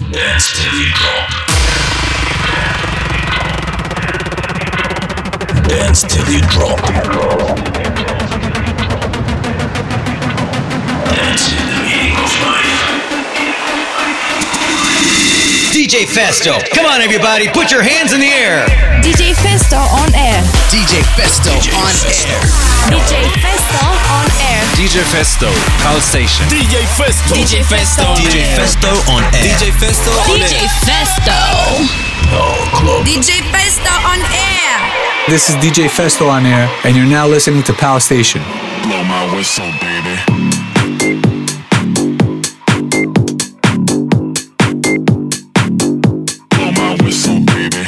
Dance till you drop. Dance till you drop. Dance in the meaning of life. DJ Festo, come on everybody, put your hands in the air. DJ Festo on air. DJ Festo on air. DJ Festo on air. DJ Festo, Pulse Station. DJ Festo. DJ Festo. DJ Festo on air. DJ Festo on DJ air. Festo. DJ Festo on air. This is DJ Festo on air, and you're now listening to Pal Station. Blow my whistle, baby. Blow my whistle, baby.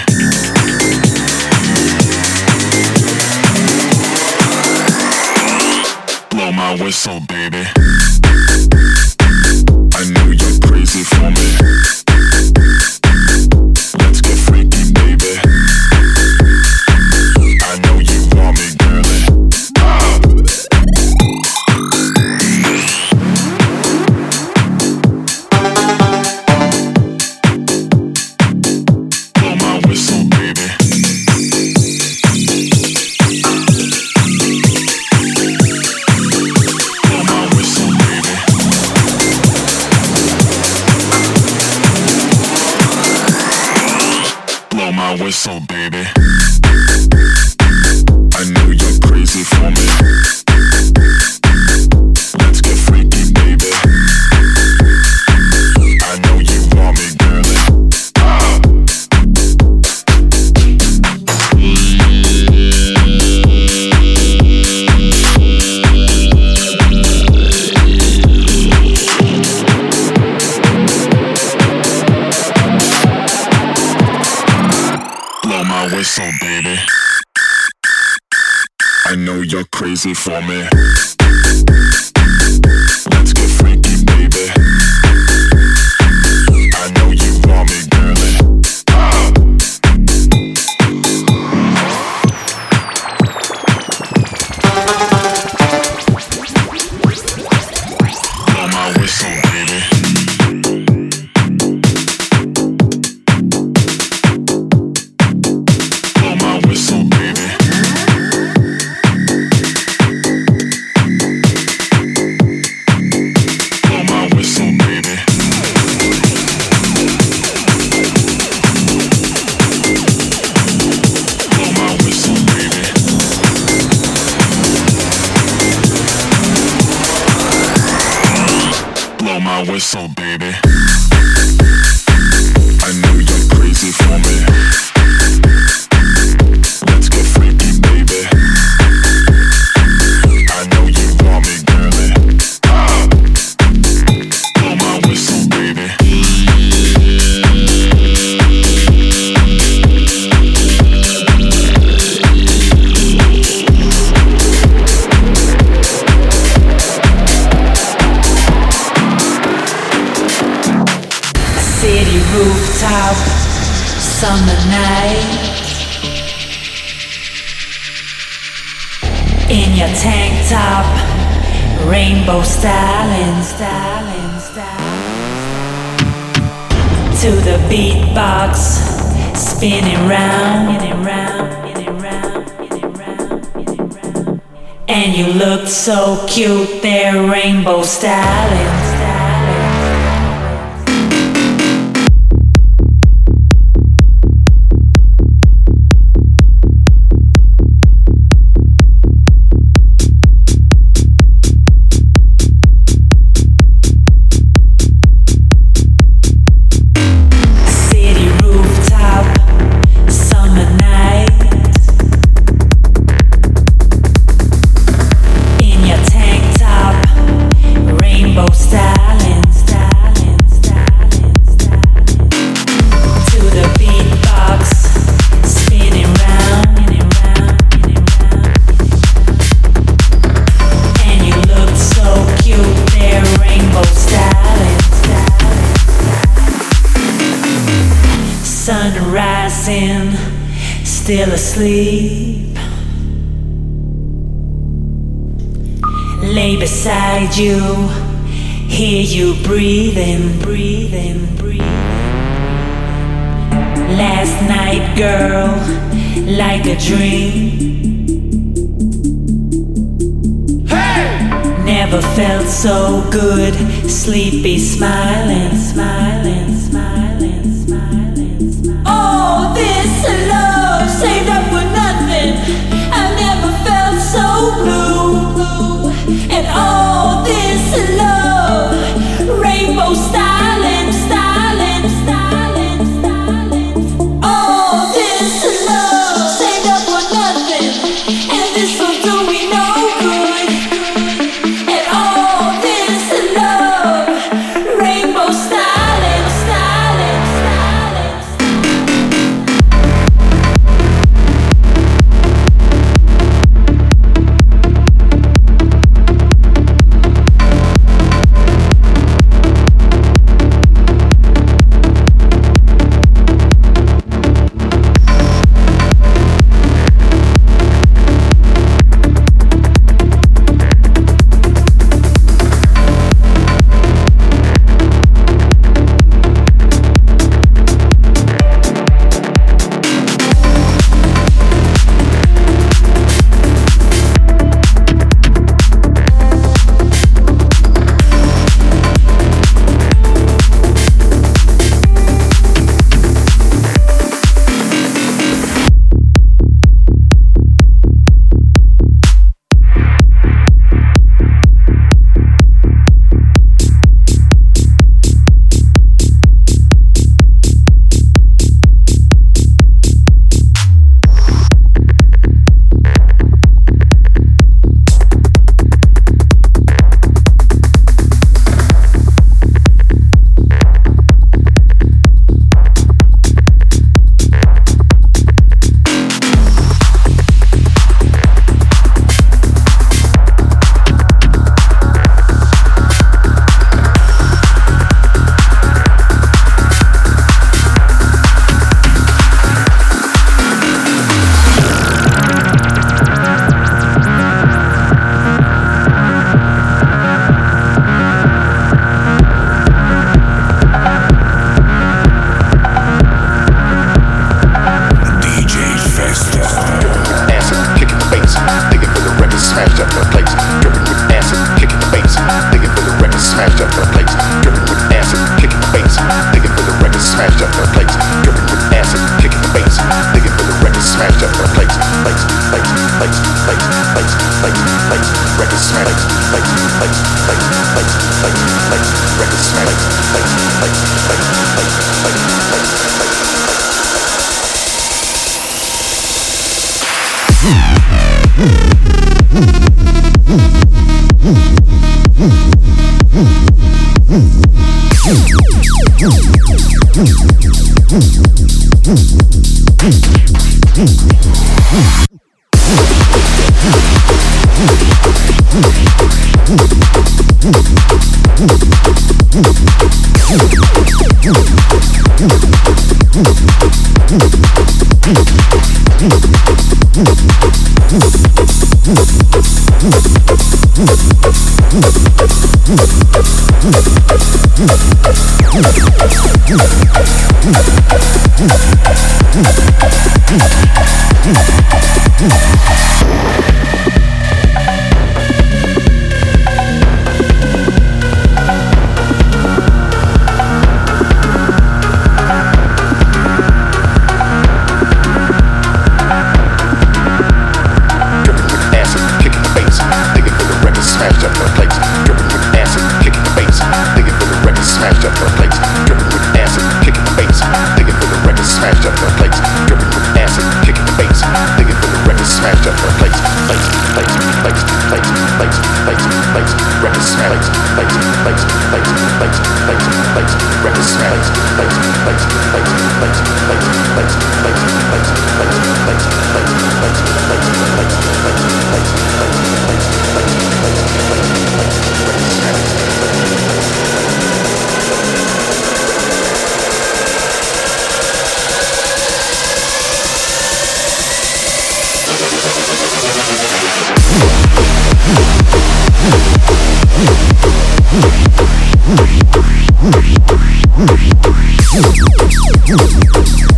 Blow my whistle, baby. I know you're crazy for me. Let's get freaky, baby. I know you want me, girlie. Blow my whistle, baby. Blow my whistle, baby. Blow my whistle, baby. I know you're crazy for me. Let's get freaky, baby. I know you want me, girlie. Blow my whistle, baby. I know you're crazy for me. Let's get freaky, baby. I know you want me, girlie. Blow my whistle, baby. Blow my whistle, baby. Blow my whistle, baby. Blow my whistle, baby. Blow my whistle, baby. I know you're crazy for me. Let's get freaky, baby. I know you want me, girlie. Blow my whistle, baby. City rooftop, summer night. In your tank top, rainbow styling, styling, styling. To the beatbox, spinning round, spinning round, spinning round, spinning round, spinning round. And you look so cute there, rainbow styling, styling. City rooftop, summer night. In your tank top, rainbow styling, styling, styling, styling. To the beatbox, spinning round, spinning round, spinning round. And you look so cute there, rainbow styling, styling. Sun rising, still asleep. Lay beside you, hear you breathing, breathing, breathing. last night, girl, like a dream. Never felt so good, sleepy, smiling, smiling, smiling, smiling, smiling. Oh, this love saved up for nothing. I never felt so blue. And all this love, rainbow styling, styling, styling, styling. All this love saved up for nothing. And this will do me no good.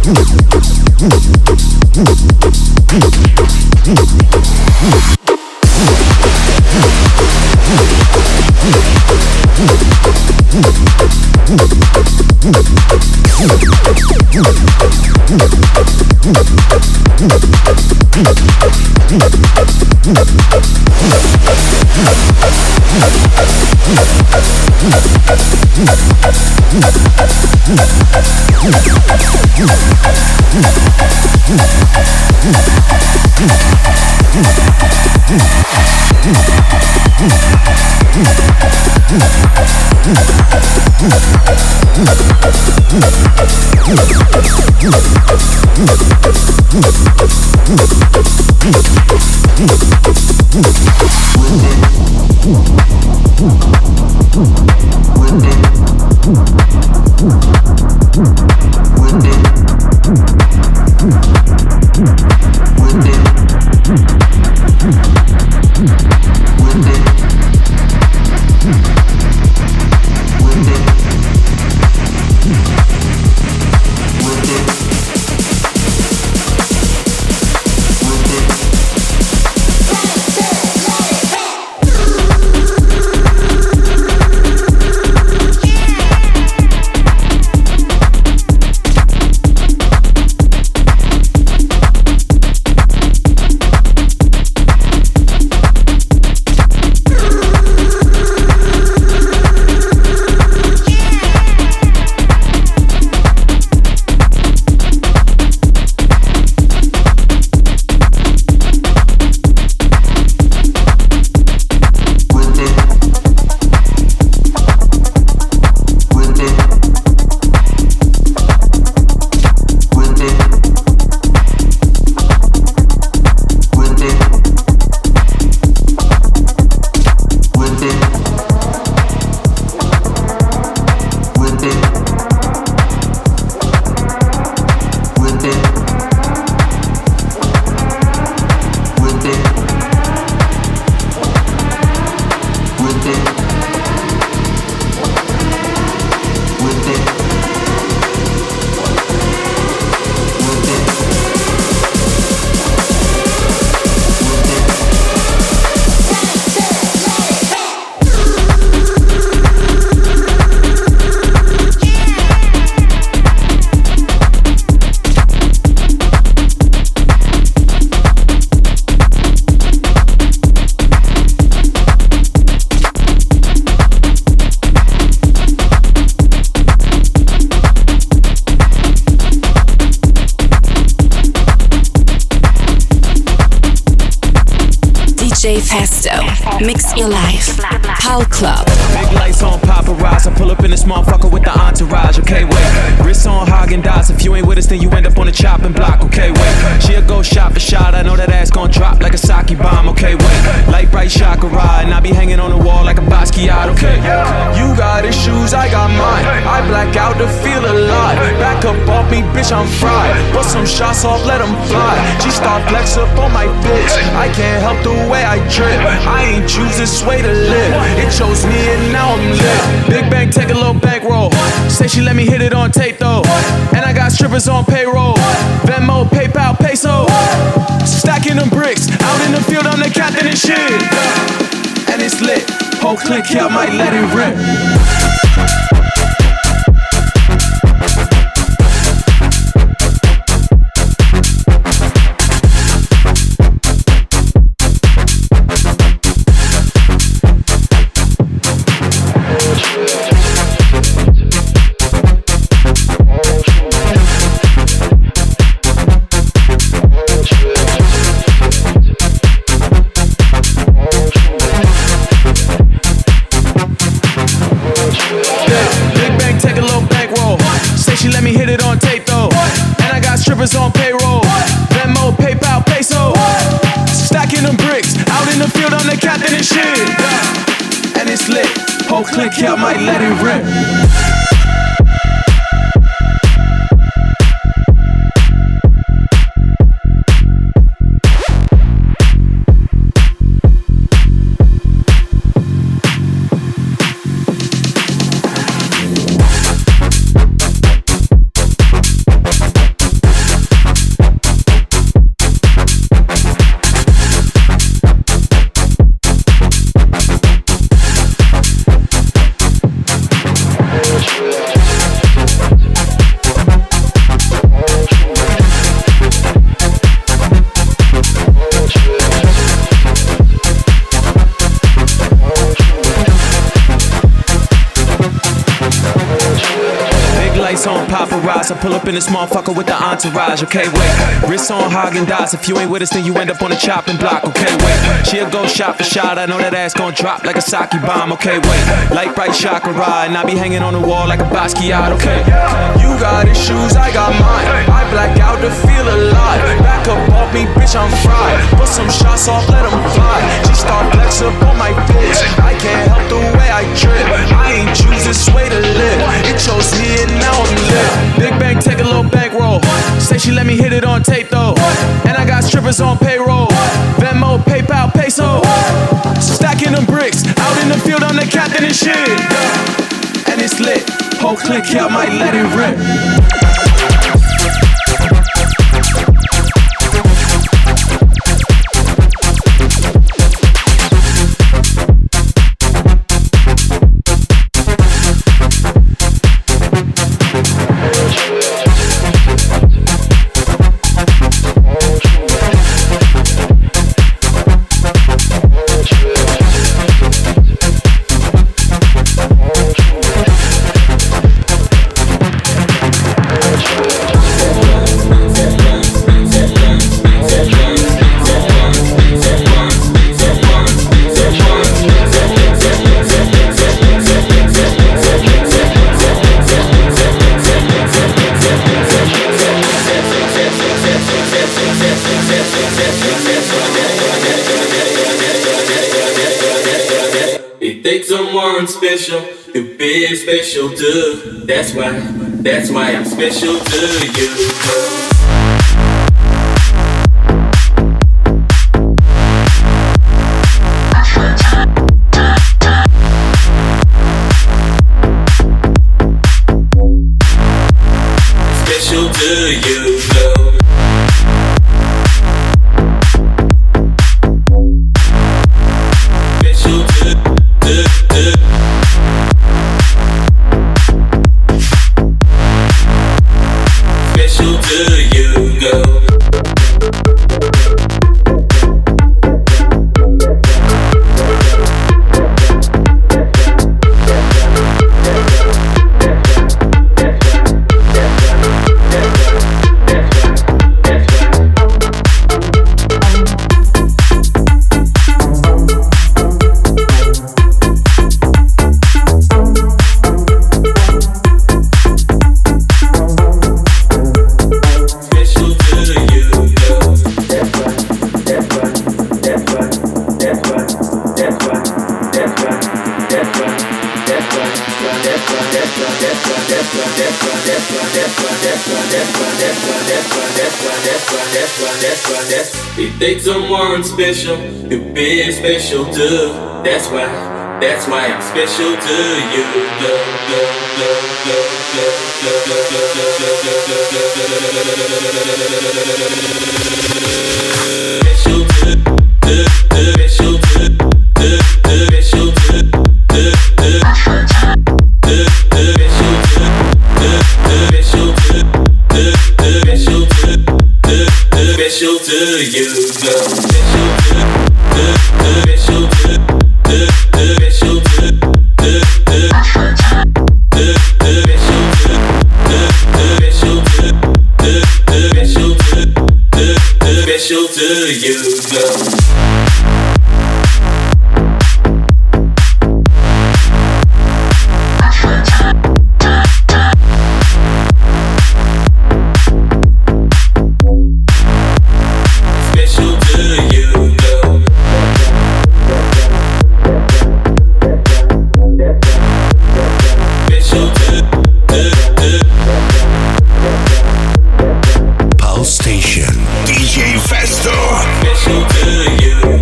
DJ Festo, mix your life. Pal Club. Big lights on paparazzi. I pull up in this motherfucker with the entourage. Okay, wait. Wrists on Haagen-Dazs. If you ain't with us, then you end up on the chopping block. Okay, wait. She'll go shot for shot. I know that ass gon' drop like a sake bomb. Okay, wait. Light bright chakra, and I be hanging on the wall like a Basquiat. Okay, you got issues, I got mine. I black out to feel alive. Back up off me, bitch, I'm fried. Put some shots off, let them fly. She start flex up on my bitch. I can't help the way I trip. I ain't choose this way to live. It chose me and now I'm lit. Big bank, take a little bankroll. Say she let me hit it on tape though. And I got strippers on payroll. Venmo, PayPal, peso. Stacking them bricks. Out in the field, I'm the captain and shit. And it's lit. Whole clique here, I might let it rip. On payroll, Venmo, PayPal, peso. Stacking them bricks. Out in the field, I'm the captain and shit. And it's lit. Whole clique here, I might let it rip. paparazzi. I pull up in this motherfucker with the entourage. Okay, wait. Wrist on Haagen-Dazs. If you ain't with us, then you end up on the chopping block. Okay, wait. She'll go shot for shot. I know that ass gon' drop like a sake bomb. Okay, wait. Light bright chakra ride, and I be hanging on the wall like a Basquiat. Okay. You got issues, I got mine. I black out to feel alive. Back up off me, bitch, I'm fried. Put some shots off, let them fly. She start flex up on my bitch. I can't help the way I trip. I ain't choose this way to live. It chose me and now I'm lit. Big bank, take a little bankroll. Say she let me hit it on tape though. And I got strippers on payroll. Venmo, PayPal, peso. Stacking them bricks. Out in the field, I'm the captain and shit. And it's lit. Whole clique here, I might let it rip. Someone special to be special too. That's why I'm special to you. Special to you, though. Special to Special to you, go. It takes someone special to be special too. That's why I'm special to you. Special to you, girl. Special to you, girl. Pulse Station, DJ Festo. Special to you.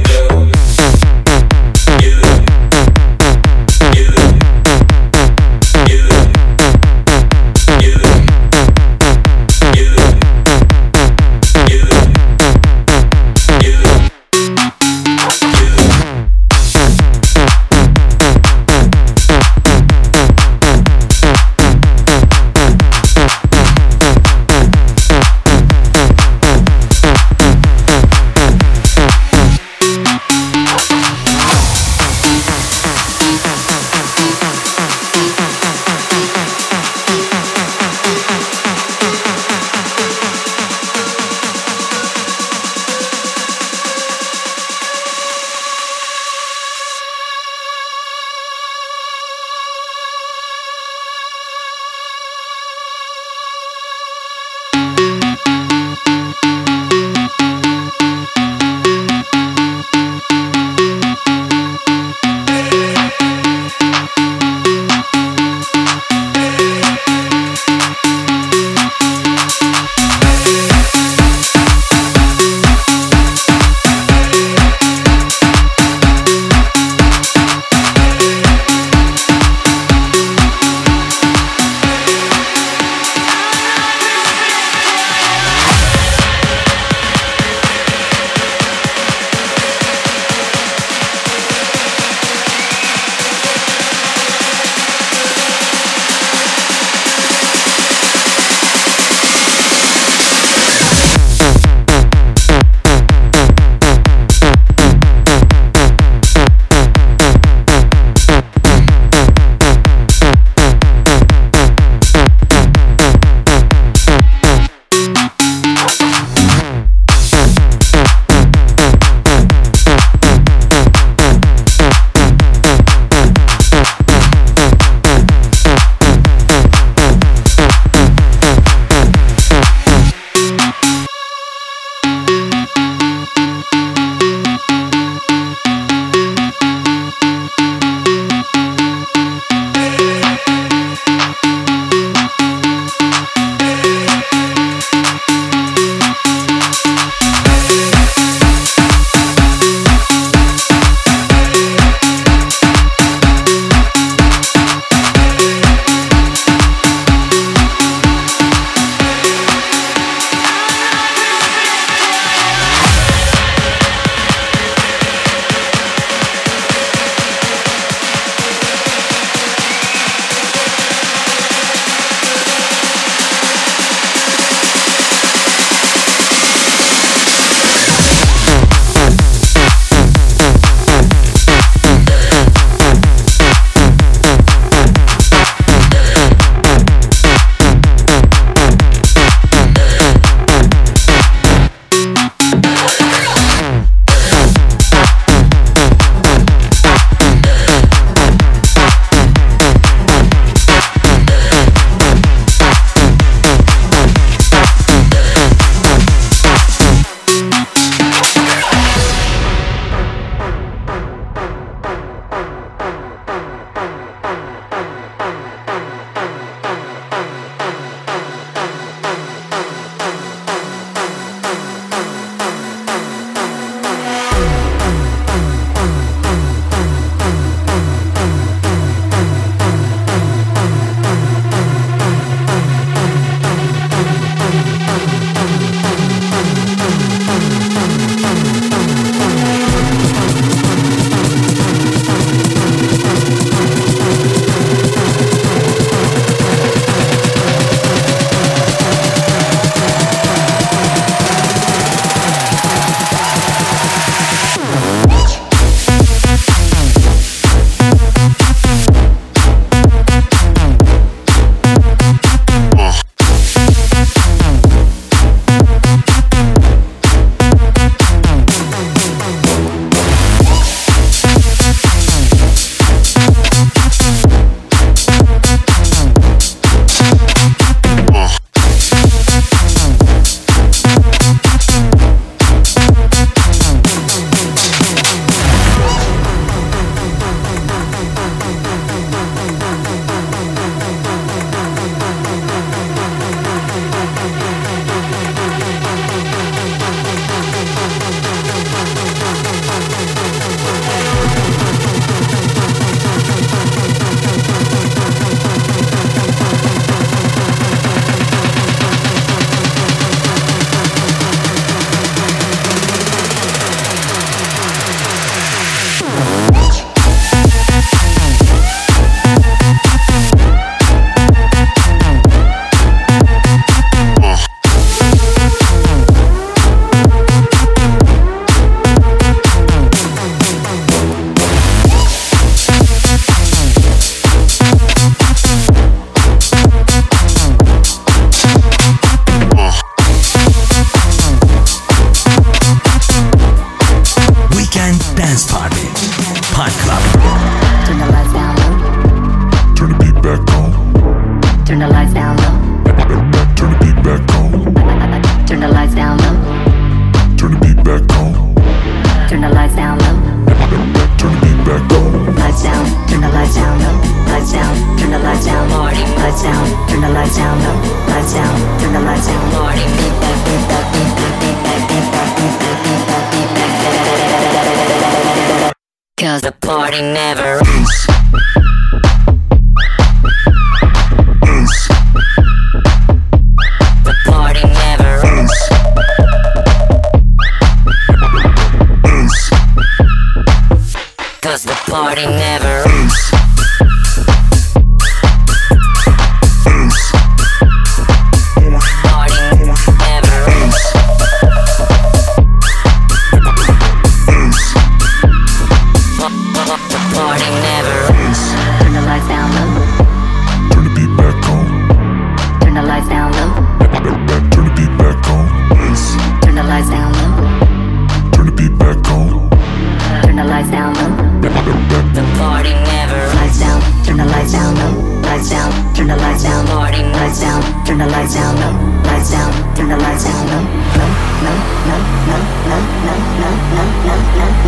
turn the lights down low, lights down, turn the lights down low, low, low, low, low, low, low, low, low,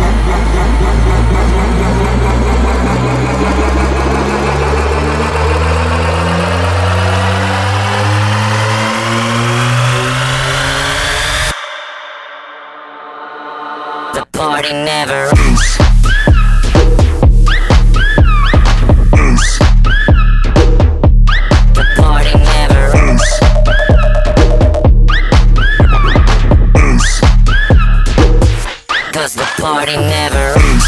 low, low, low. The party never ends. The party never ends. Cause the party never ends.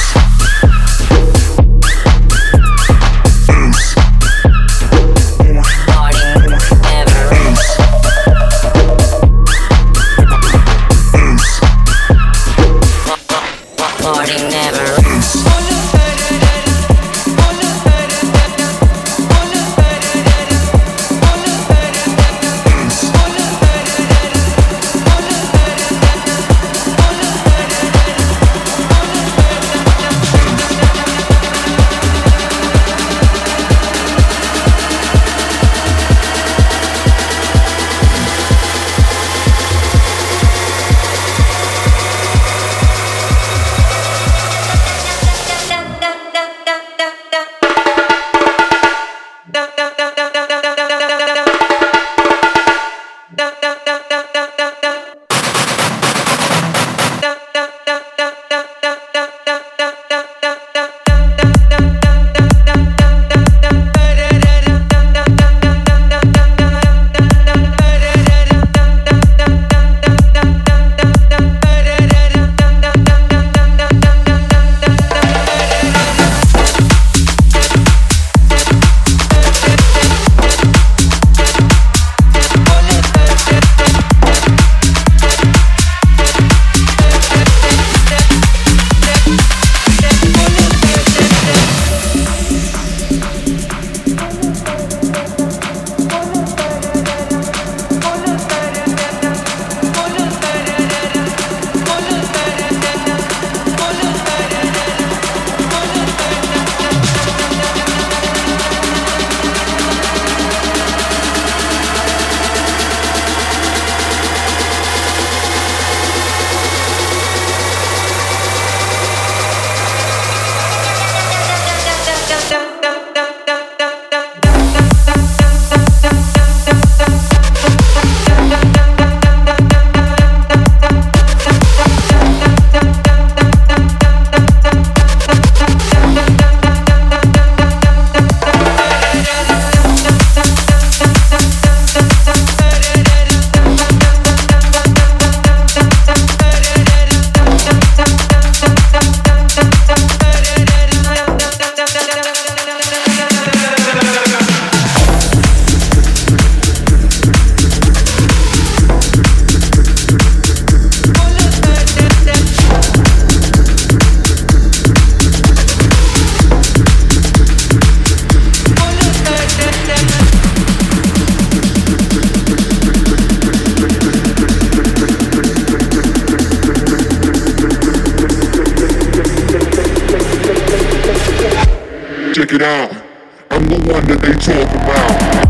Check it out, I'm the one that they talk about.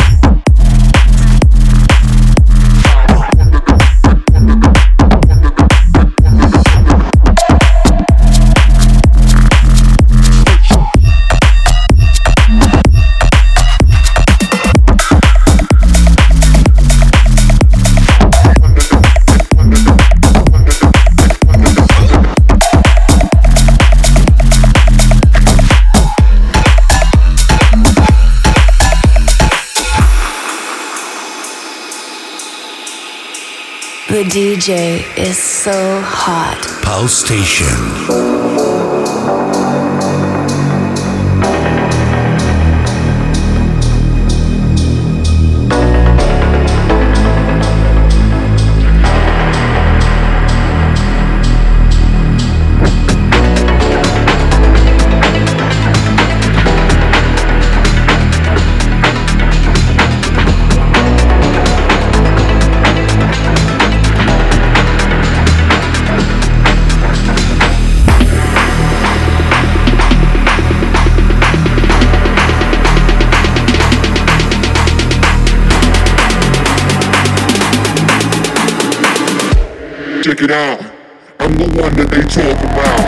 The DJ is so hot. Pulse Station. check it out. I'm the one that they talk about.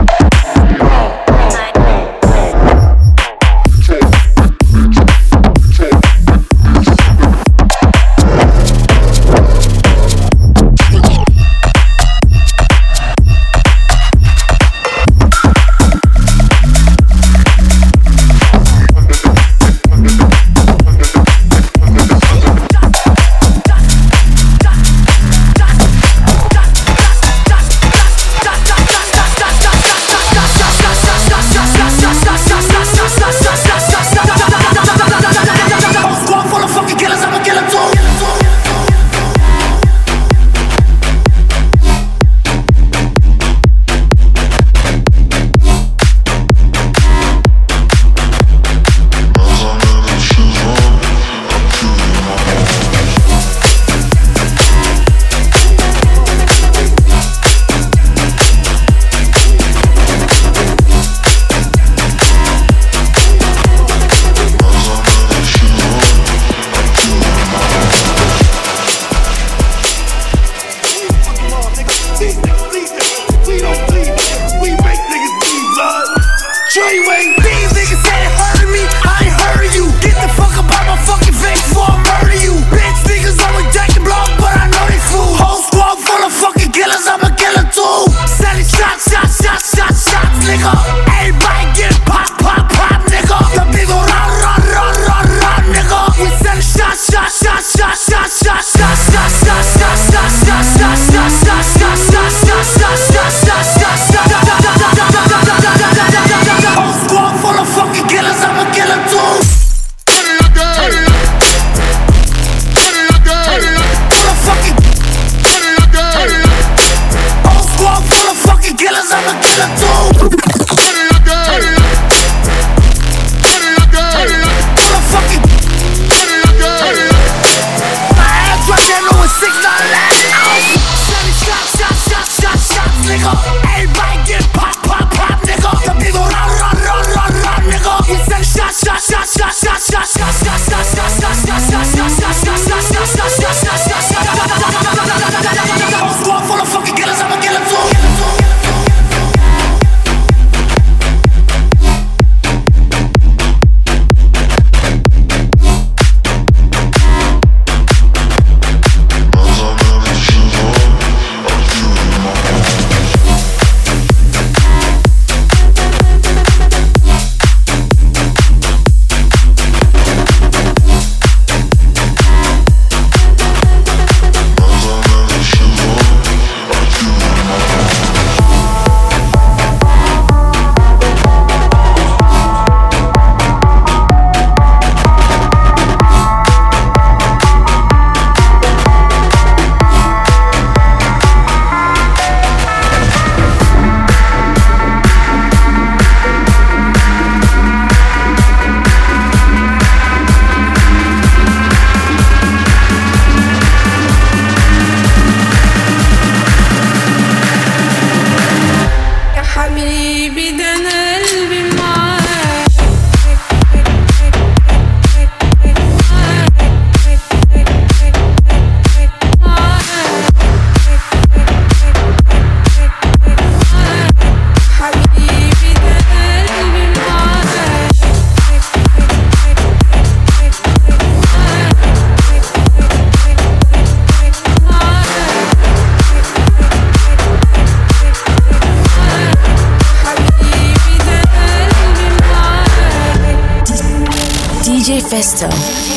DJ Festo.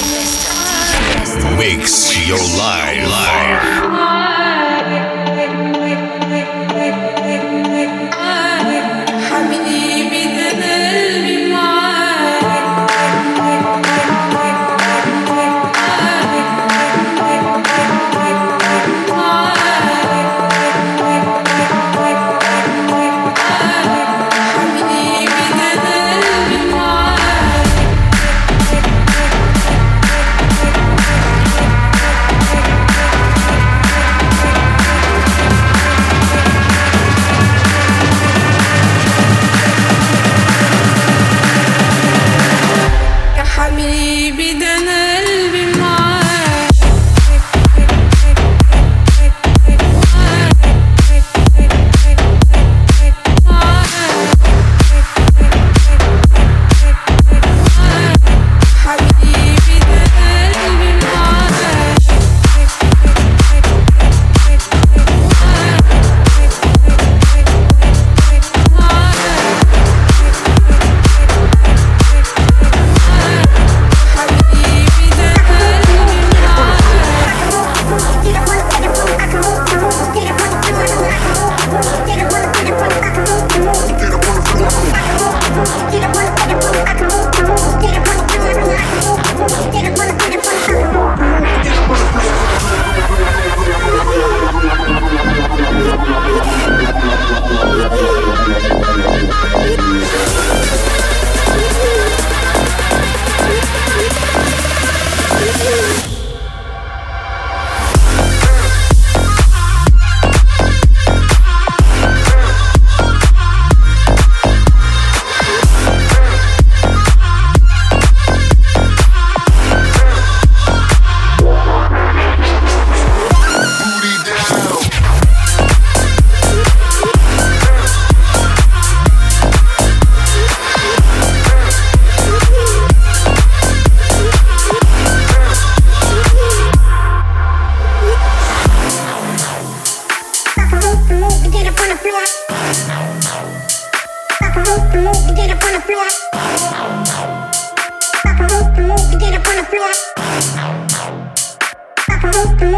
Mix your life.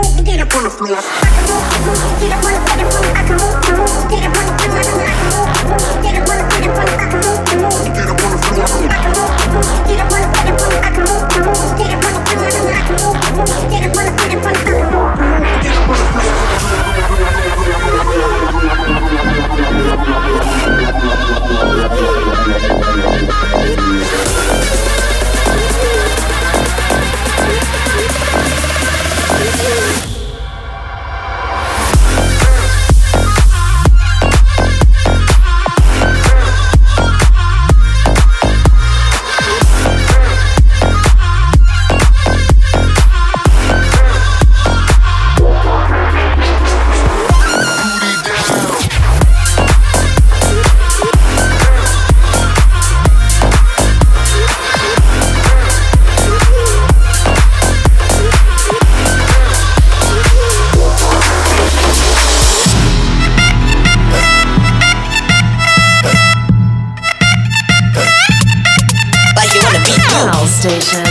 Station.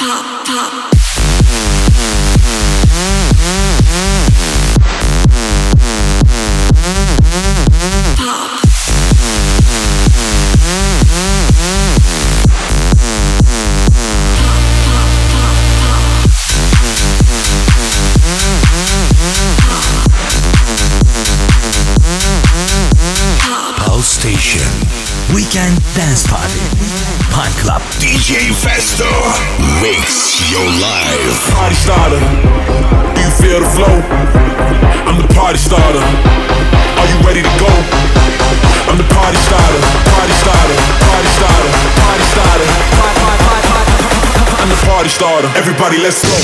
Weekend Dance Party. Pine Club. DJ Festo. Mix your life. Party starter. Do you feel the flow? I'm the party starter. Are you ready to go? I'm the party starter. Party starter. Party starter. Party starter. I'm the party starter. Everybody, let's go.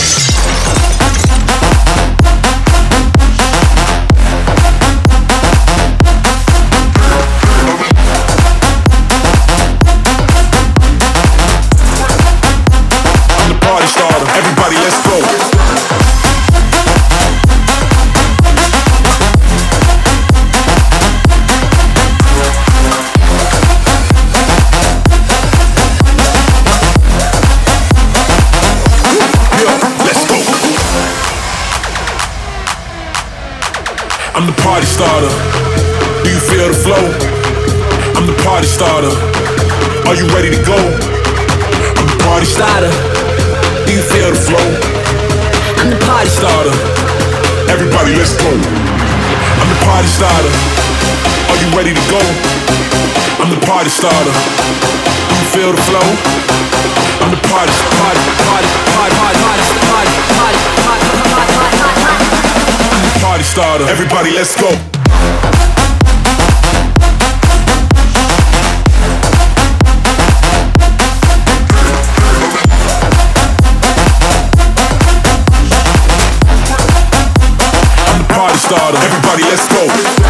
Everybody, let's go. I'm the party starter. Do you feel the flow? I'm the party starter. Are you ready to go? I'm the party starter. Do you feel the flow? I'm the party starter. Everybody, let's go. I'm the party starter. Are you ready to go? I'm the party starter. Do you feel the flow? I'm the party starter. I'm the party starter. Everybody, let's go. Starter. Everybody, let's go.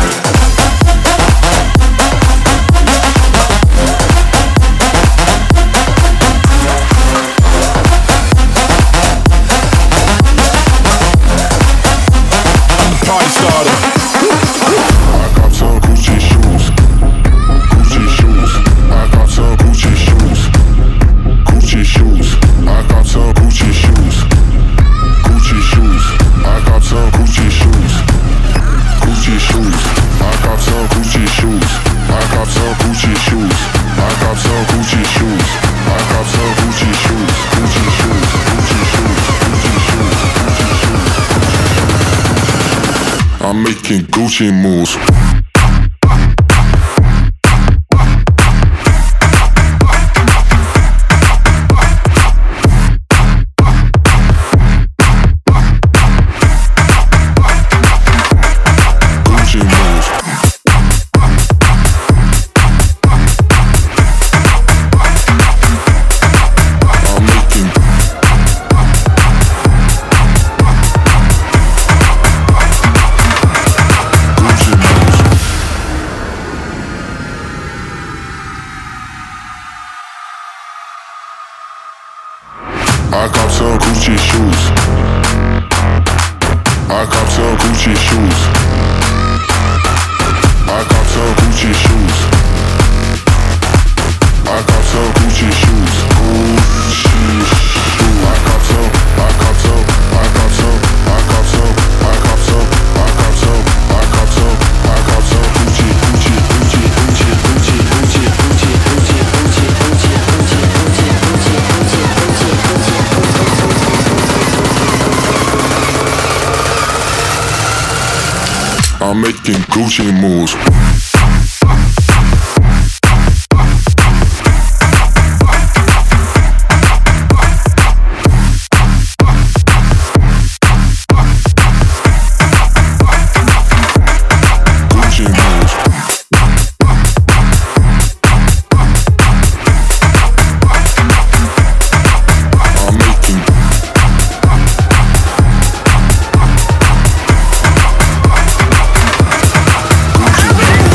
I'm the party starter. I got some Gucci shoes. Gucci shoes. I got some Gucci shoes. Gucci shoes. I got some Gucci shoes. Gucci shoes. I got some Gucci shoes. Gucci shoes, I got some Gucci shoes. I got some Gucci shoes. I got some Gucci shoes. I got some Gucci shoes. Gucci shoes, Gucci shoes, Gucci shoes, Gucci shoes. I'm making Gucci moves. I got some Gucci shoes. I got some Gucci shoes. I got some Gucci shoes. I got some Gucci shoes. Gucci shoes. I got some. I got some. I got some. I got some. I got some. I got some. I got some. I got some Gucci, Gucci, Gucci, Gucci, Gucci, Gucci, Gucci, Gucci, Gucci, Gucci, Gucci, Gucci, Gucci, Gucci, Gucci. I'm making Gucci moves. Gucci moves.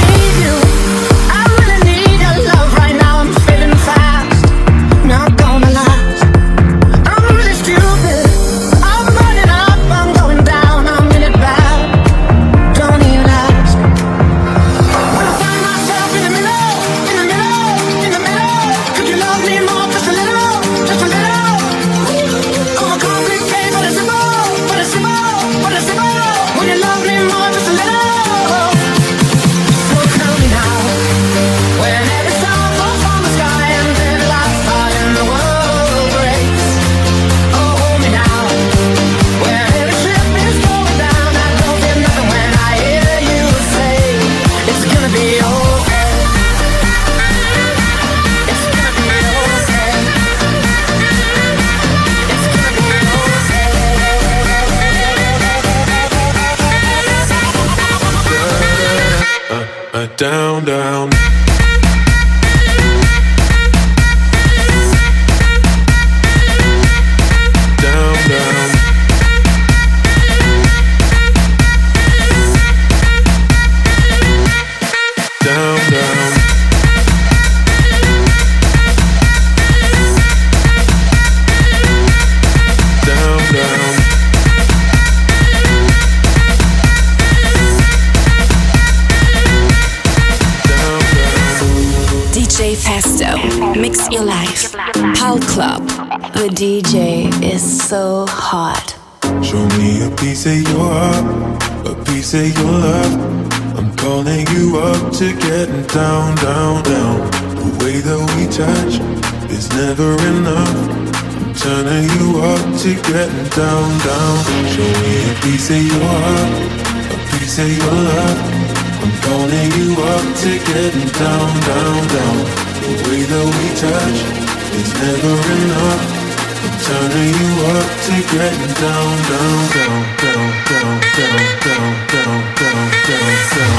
Pal Club. The DJ is so hot. Show me a piece of your heart, a piece of your love. I'm calling you up to getting down, down, down. The way that we touch is never enough. I'm turning you up to getting down, down. Show me a piece of your heart, a piece of your love. I'm calling you up to getting down, down, down. The way that we touch is never enough. I'm turning you up to getting down, down, down, down, down, down, down, down, down, down,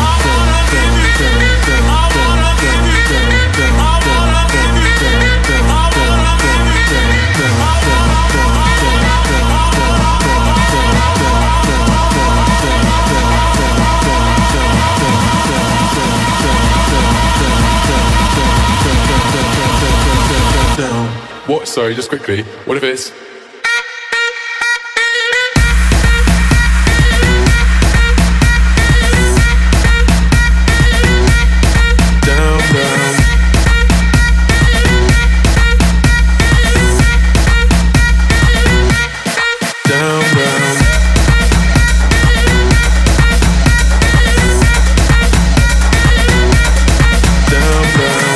What? Sorry, just quickly. What if it's down, down, down, down, down, down.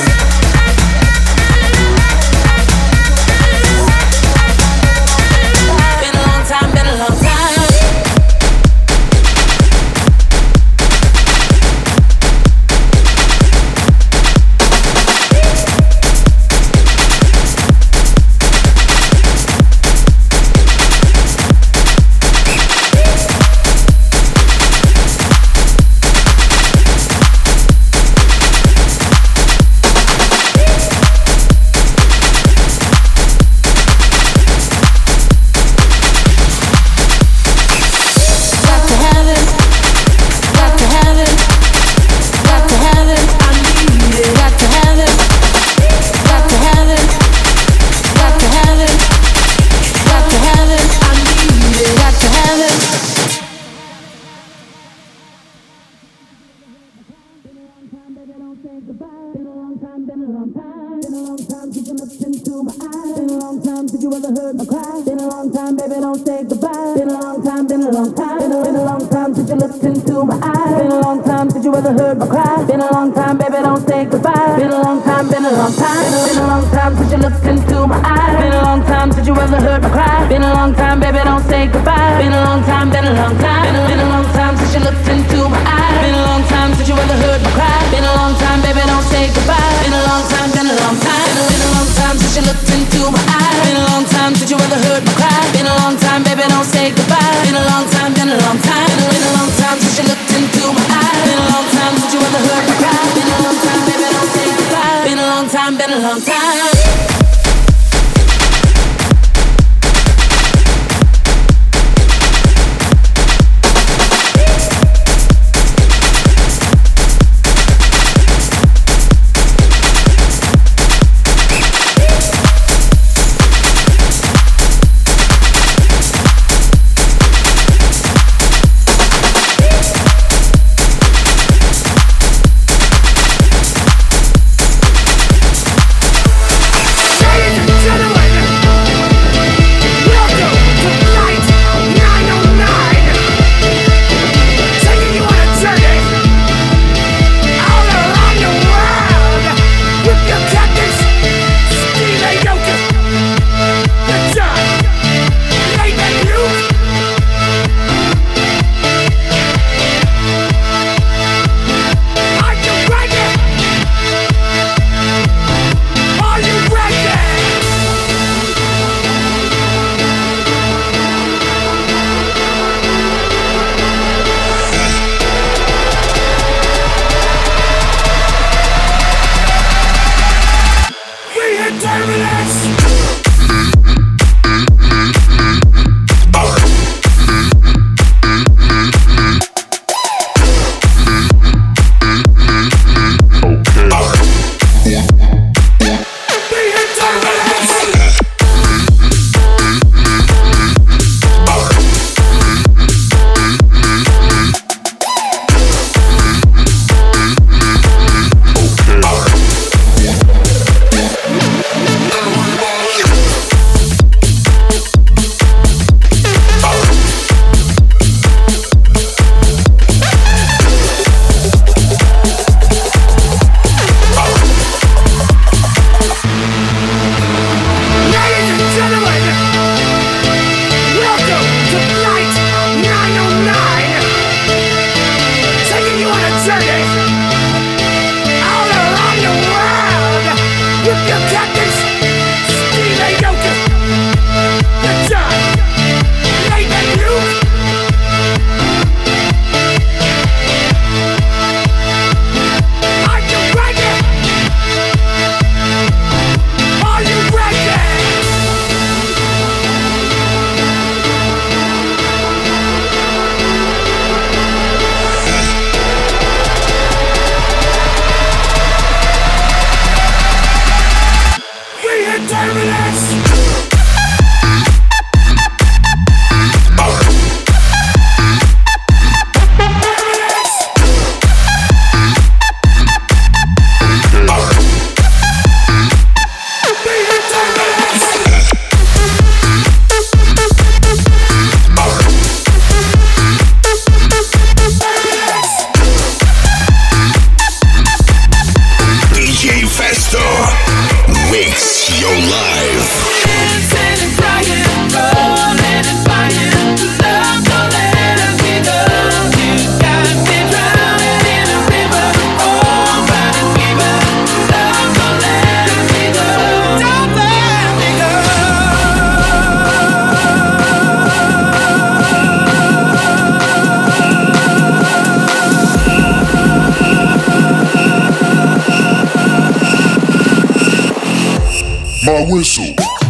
my whistle.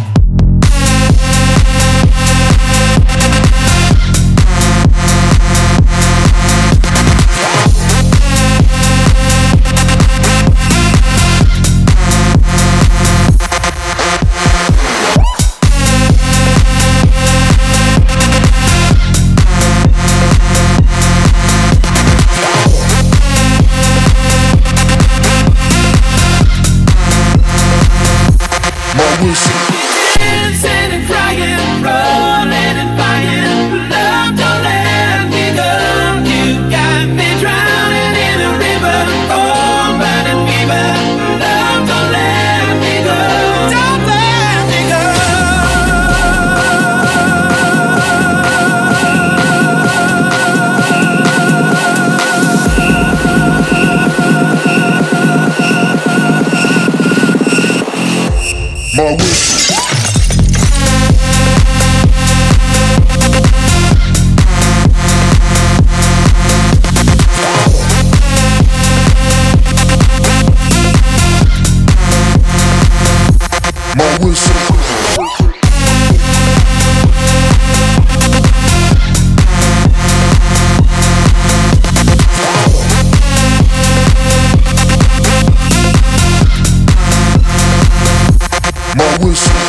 Dancing and crying, rolling and buying. Love, don't let me go. You got me drowning in a river, cold burning fever. Love, don't let me go. Don't let me go. My whistle. My whistle. My whistle.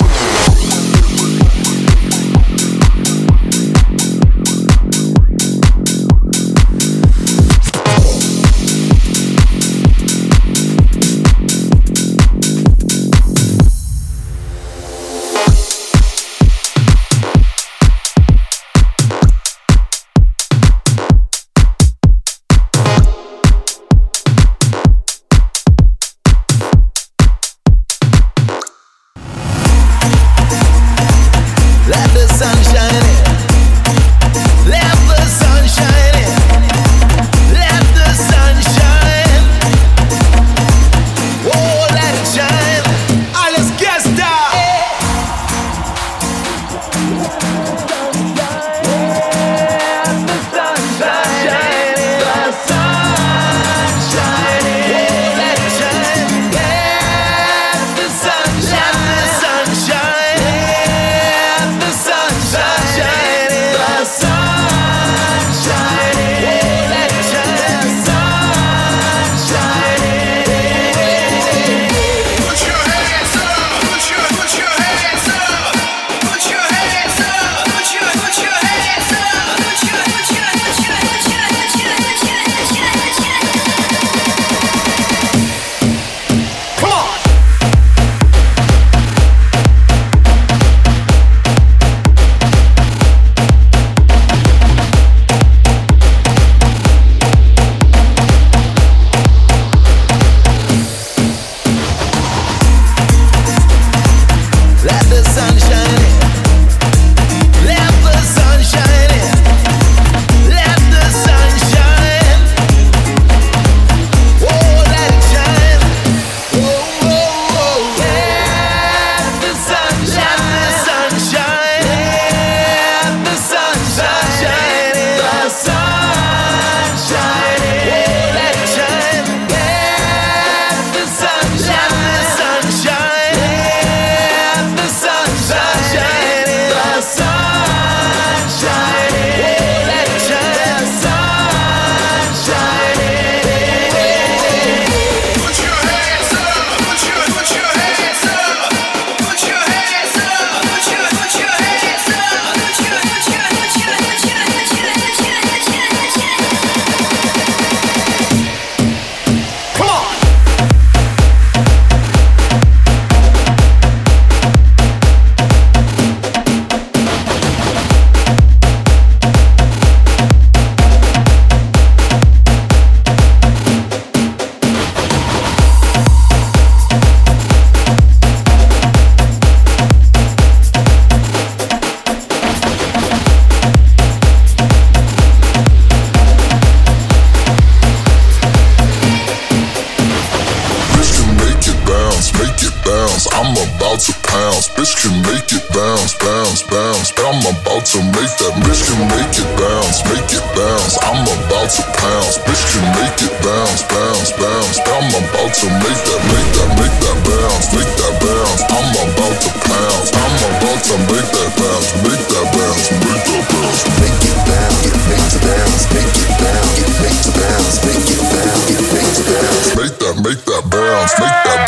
Bitch can make it bounce, bounce, bounce. I'm about to make that bitch can make it bounce, make it bounce. I'm about to pounce. Bitch can make it bounce, bounce, bounce. I'm about to make that bounce, make that bounce. I'm about to pounce. I'm about to make that bounce, make that bounce, make that bounce. Make it bounce, get make to bounce, make it bounce, get make to bounce, make it bounce, get make to bounce. Make that bounce, make that.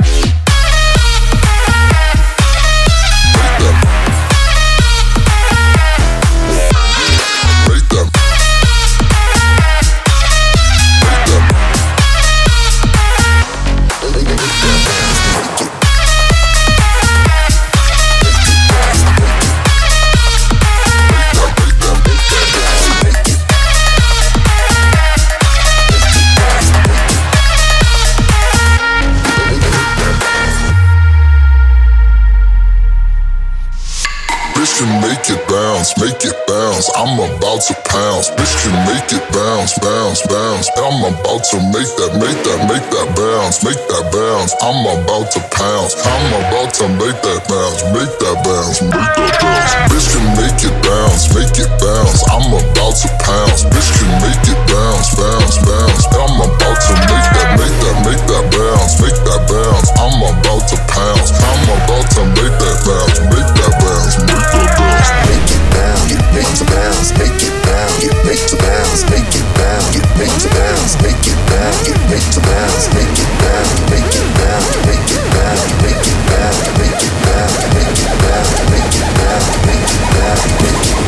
Make it bounce, I'm about to pounce. Bitch can make it bounce, bounce, bounce. I'm about to make that bounce, make that bounce. I'm about to pounce. I'm about to make that bounce, make that bounce, make that bounce. Bitch can make it bounce, make it bounce. I'm about to pounce. Bitch can make it bounce, bounce, bounce. I'm about to make that bounce, make that bounce. I'm about to pounce. I'm about to make that bounce, make that bounce, make that bounce. Make it bounce, get make to bounce, make it bounce, get make to bounce, make it bounce, get make to bounce, make it bounce, get make to bounce, make it bounce, make it bounce, make it bounce, make it bounce, make it bounce, make it bounce, make it bounce, make it bounce, make it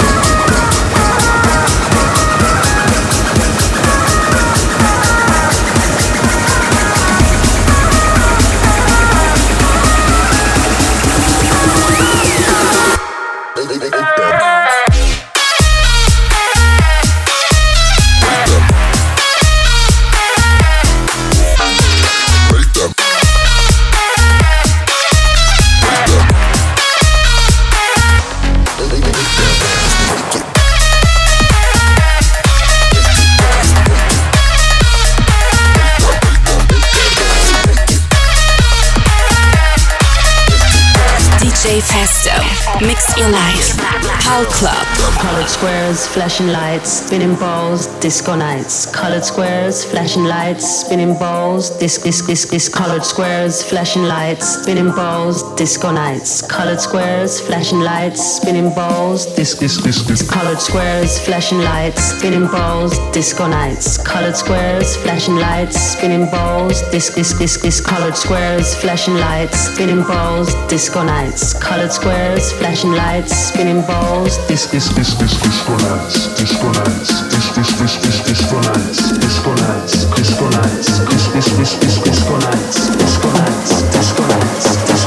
Festo, mix your life. Pal Club. Colored squares, flashing lights, spinning balls, disco nights. Colored squares, flashing lights, spinning balls, disc. Colored squares, flashing lights, spinning balls, disco nights. Colored squares, flashing lights, spinning balls, disc. Colored squares, flashing lights, spinning balls, disco nights. Colored squares, flashing lights, spinning balls, disc. Colored squares, flashing lights, spinning balls, disco nights. Colored squares, flashing lights, spinning balls, disco nights, disco nights, disco nights, disco nights, disco nights, disco nights, disco nights, disco nights, disco nights, disco nights,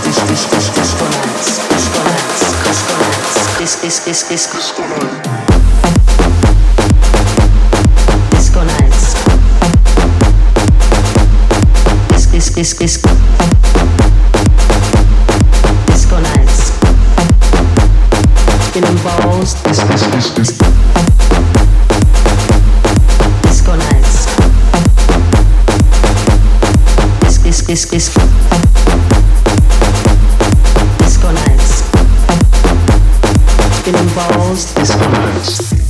spinning balls, disco nights, disco nights, spinning balls, disco nights.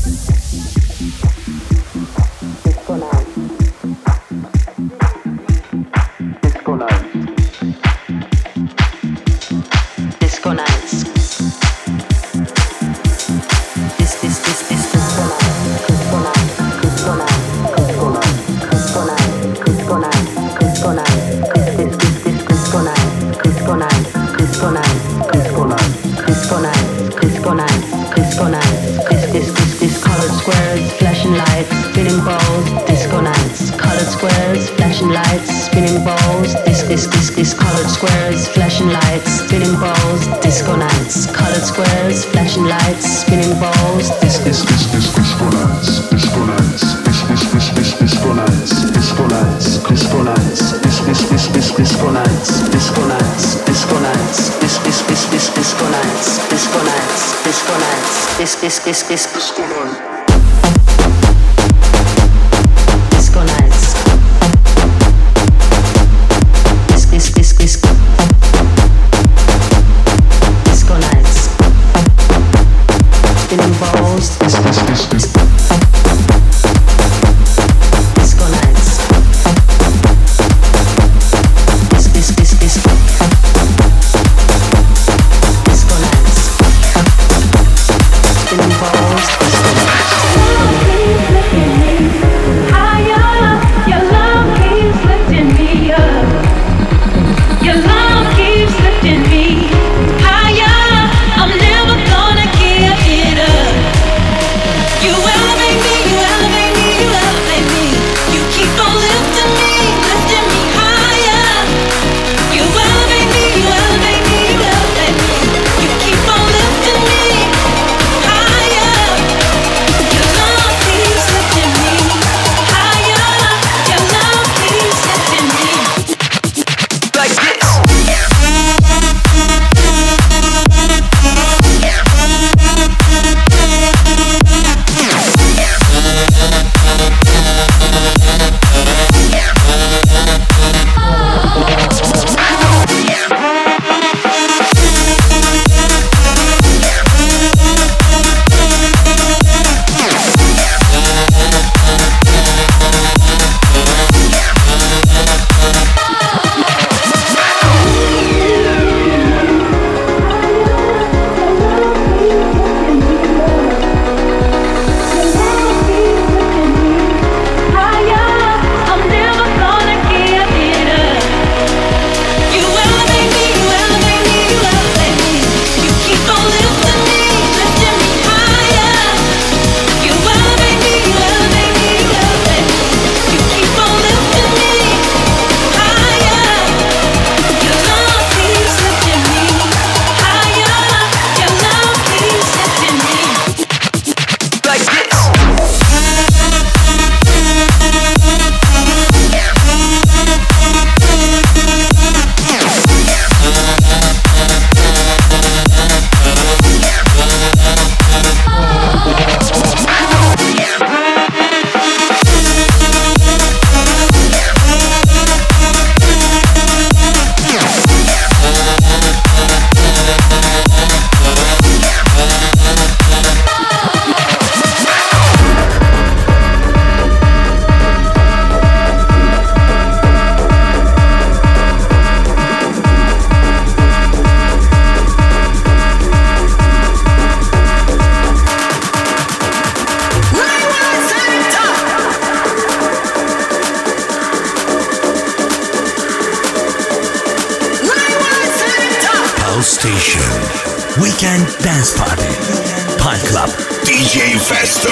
Colored squares, flashing lights, spinning balls, disco nights. Colored squares, flashing lights, spinning balls, disco nights, disco nights, disco nights, disco nights, disco nights, disco nights, disco nights, disco nights, disco nights, disco nights, disco nights, disco nights. Weekend Dance Party. Pine Club. DJ Festo.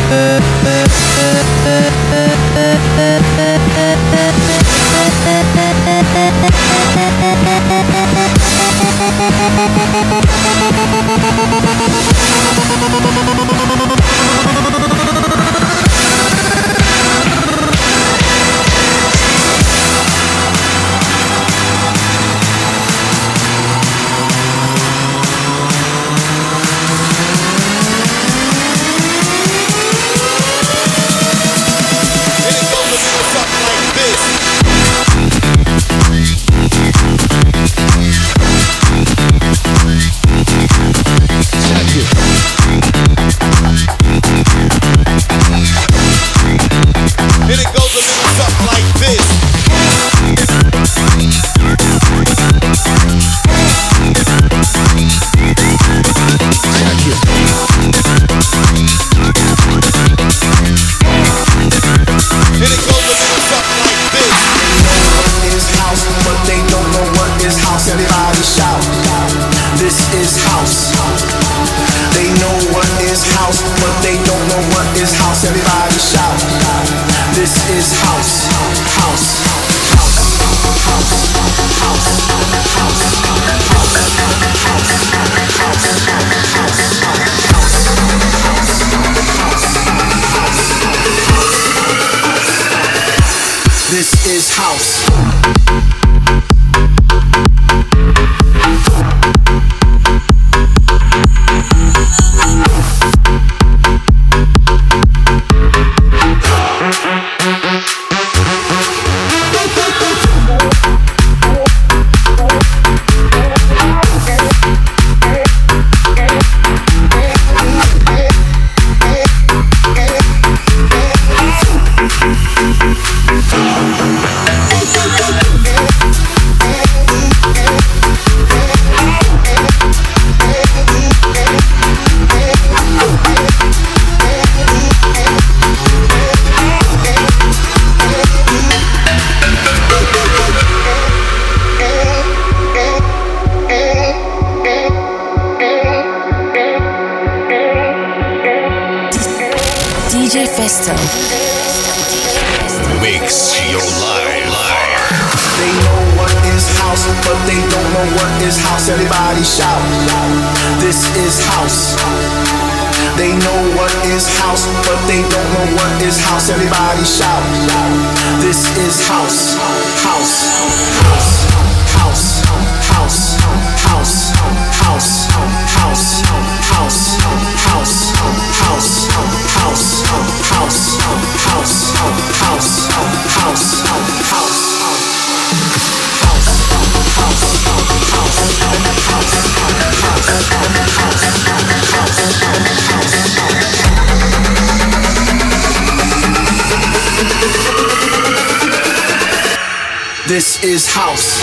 DJ Festo. Mix your life. They know what is house, but they don't know what is house. Everybody shout. This is house. They know what is house, but they don't know what is house. Everybody shout. This is house. House. House. House. House. House. House. House. House. House. House. House. House. House. This is house.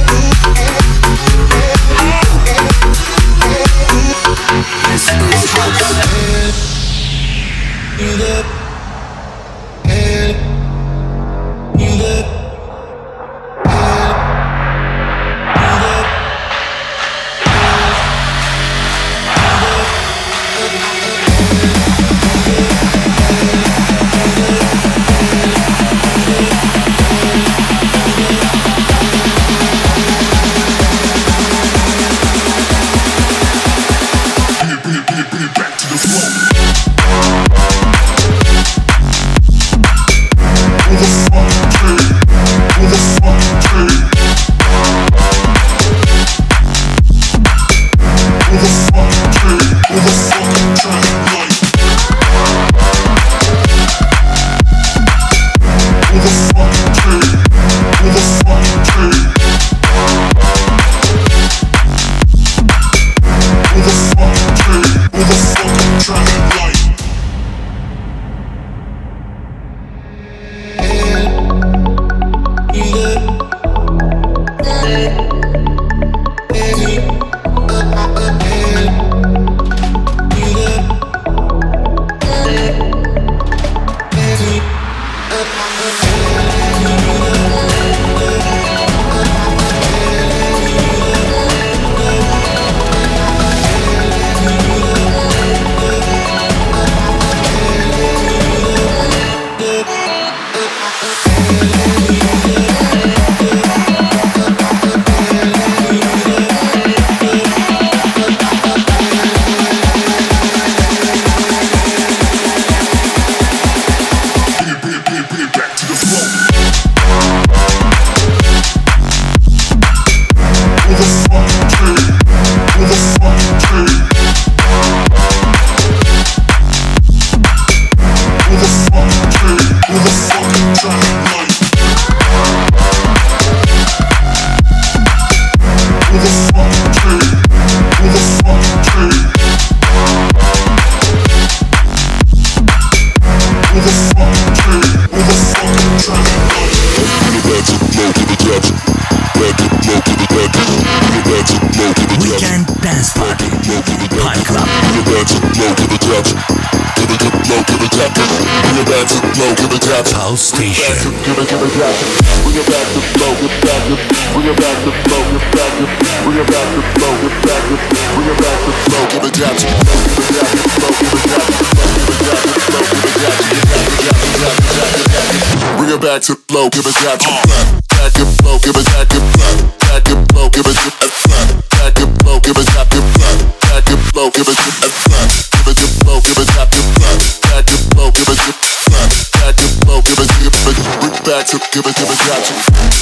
This is house. Weekend Dance Party Pine Club. Pulse Station. Bring it back to flow, give it back to back it flow, give it back to back it flow, give it to back it flow, give it back to back it flow, give it to give it to flow, give it back to back it flow, give it to back it flow, give it to bring it back to give it back to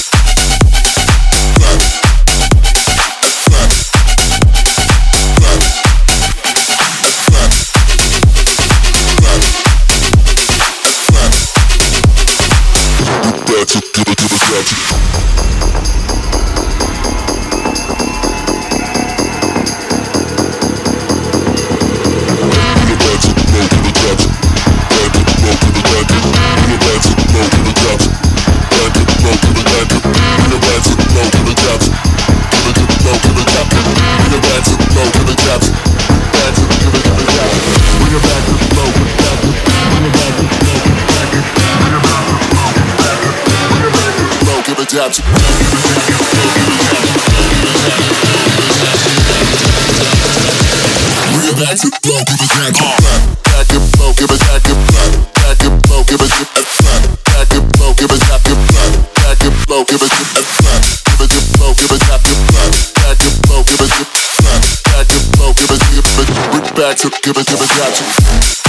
give it back to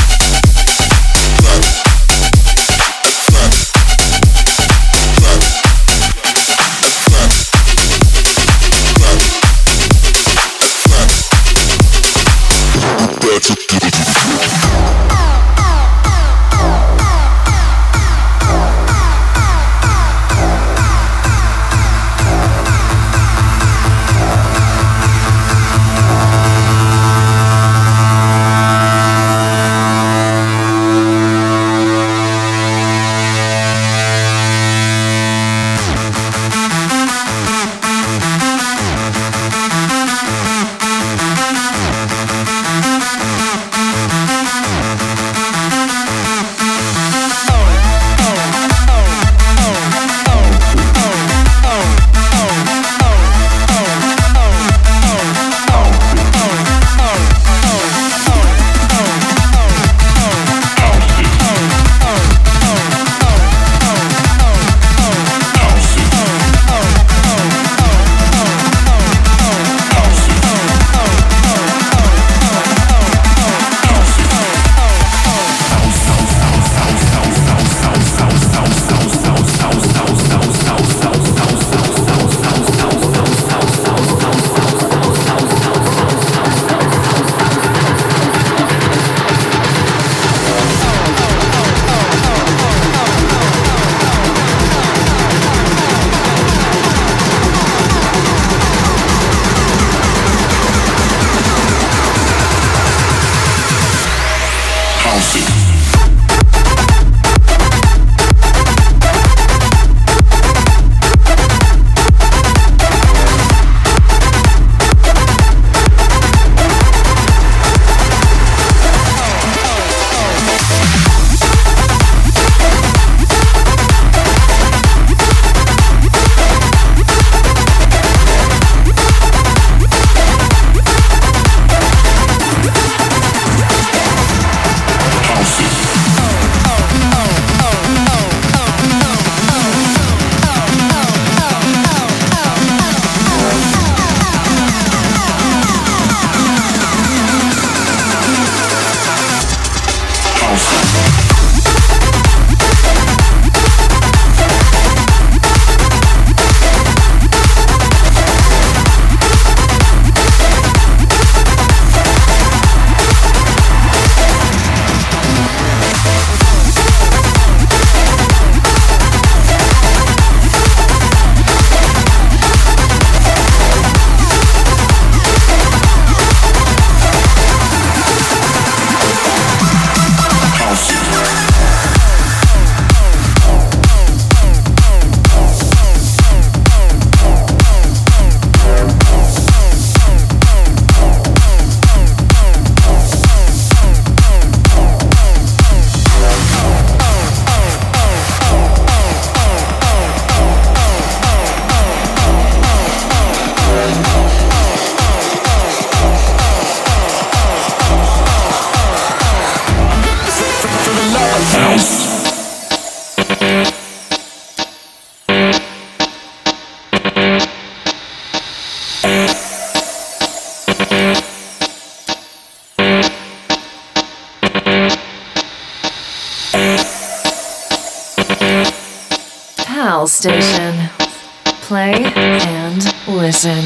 Pulse Station. Play and listen.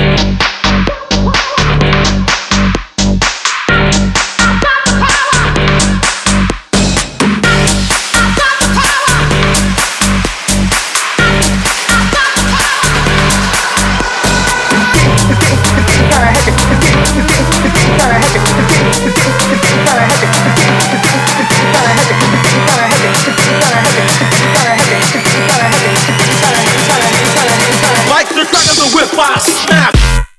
Like the crack of the whip, I snap.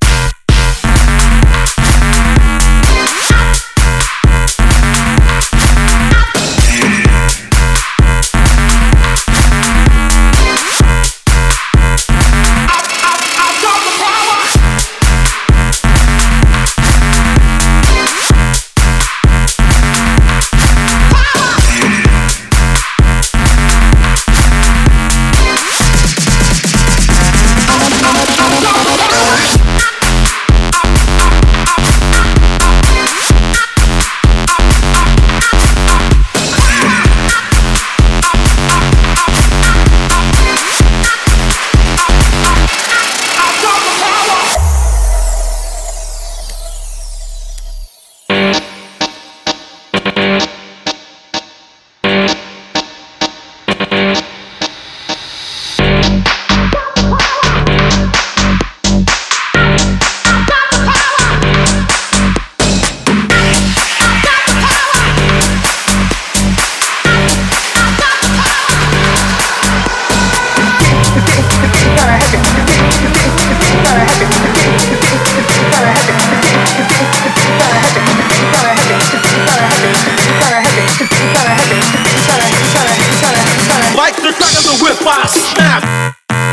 Like the crack of the whip, I snap.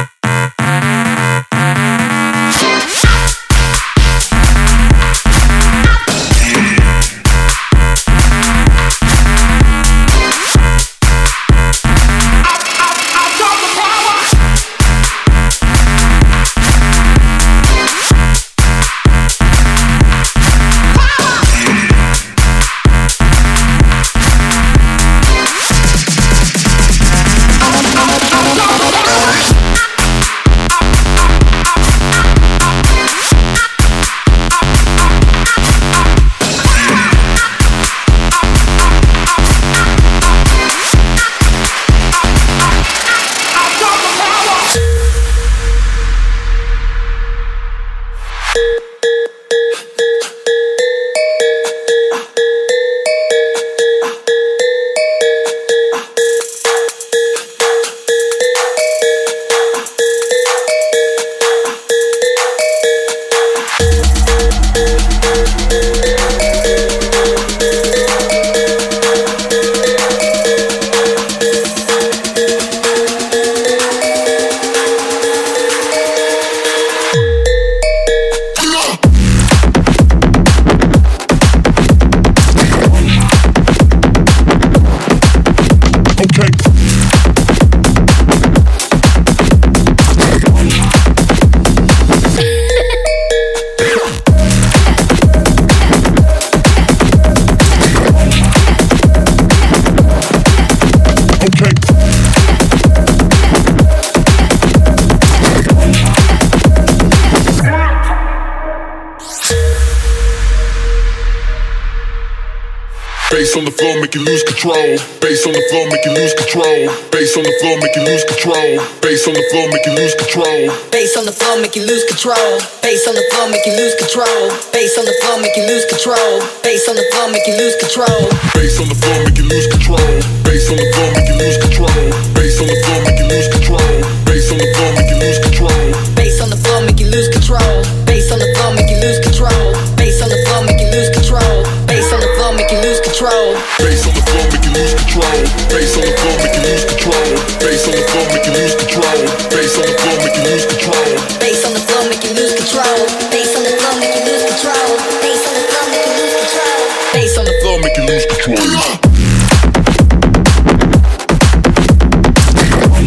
Bass on the floor, make you lose control. Bass on the floor, make you lose control. Bass on the floor, make you lose control. Bass on the floor, make you lose control. Bass on the floor, make you lose control. Bass on the floor, make you lose control. Bass on the floor, make you lose control. Bass on the floor, make you lose control. Bass on the floor, make you lose control. Bass on the floor, make you lose control. Bass on the floor, make you lose control. Bass on the floor, make you lose control. Bass on the floor, make you lose control. Bass on the floor, make you lose control. Bass on the floor, make you lose control. Bass on the floor, make you lose control. Bass on the floor, make you lose control. Bass on the floor, make you lose control. Bass on the floor, make you lose control. Bass on the floor, make you lose control. Bass on the floor, make you lose control. Bass on the floor, make you lose control. Bass on the floor, make you lose control. Bass on the floor, make you lose control.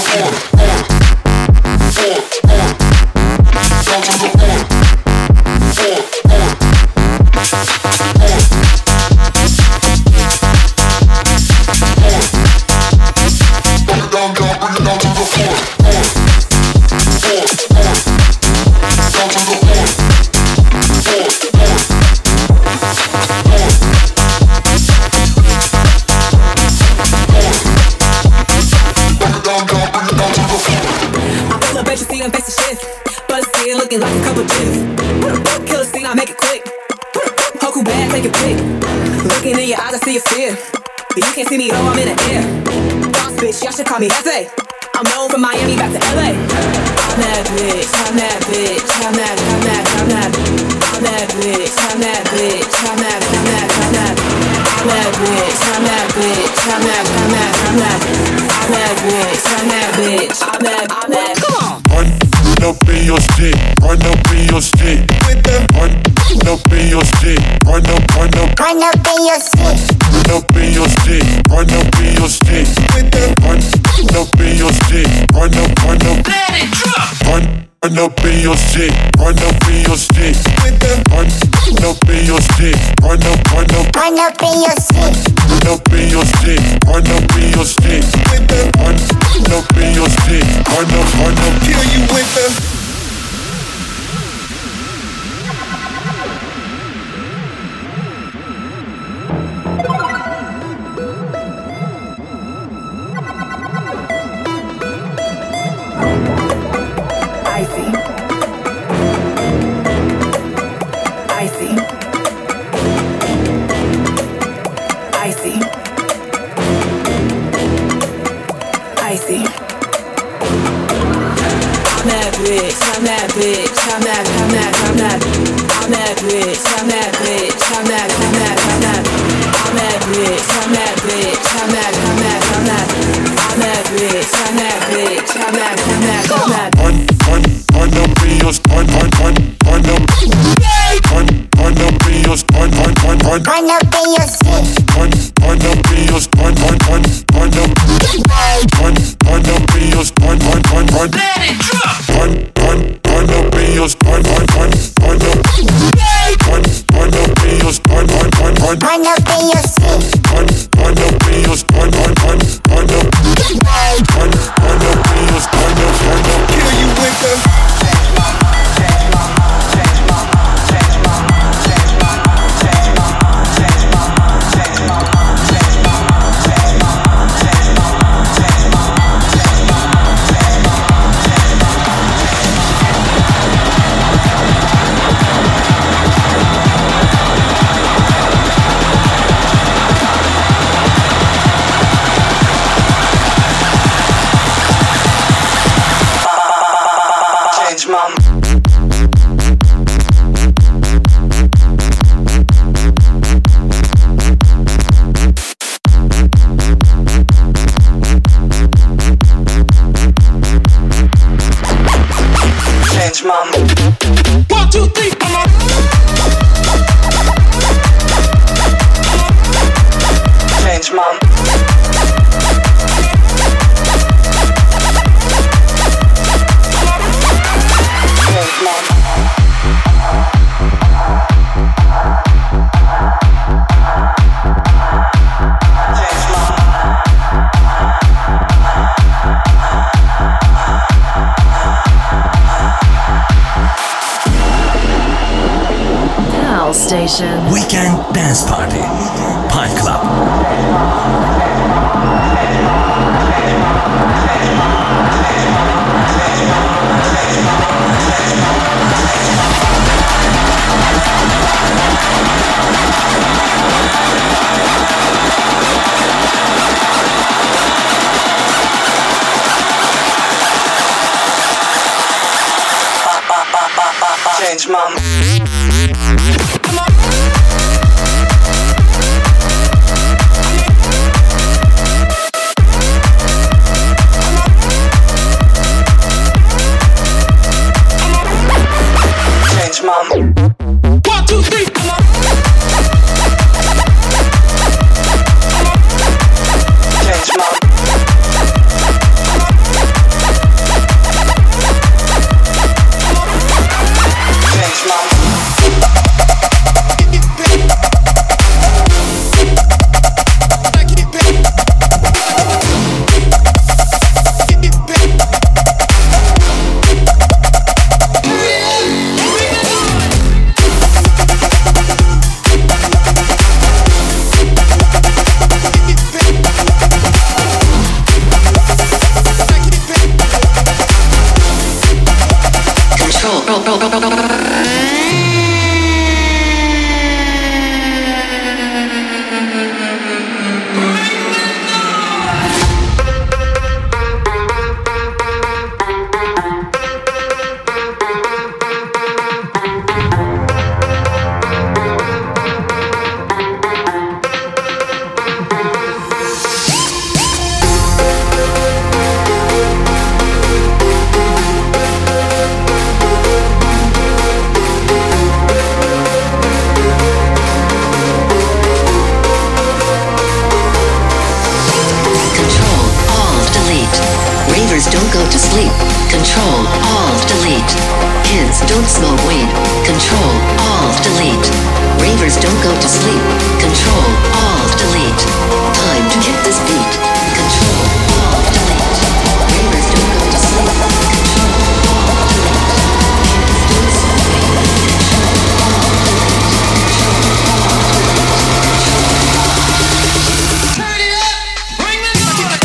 Call me Hefe. I'm known from Miami back to LA. I'm that bitch, I'm that bitch, I'm that bitch, I'm that bitch, I'm that bitch, I'm that bitch, I'm that bitch, I'm that. Come on. Run up in your stick, run up in your stick. Run up in your stick, run up in your stick. Run up in your stick, run up in your stick. Run up in your stick, run up. Let it drop. Run up in your stick, run up in your stick. Run up in your stick, run up. Run up in your stick, run up in your stick. Run up in your stick, run up in your stick. Run up, kill you with the. Weekend Dance Party, Pine Club. Change my Control, Alt, Delete. Kids don't smoke weed. Control, Alt, Delete. Ravers don't go to sleep. Control, Alt, Delete. Time to hit this beat. Control, Alt, Delete. Ravers don't go to sleep. Control, Alt, Delete. Kids don't smoke weed. Control, Alt, Delete. Control, Alt, Delete. Turn it up. Bring the noise.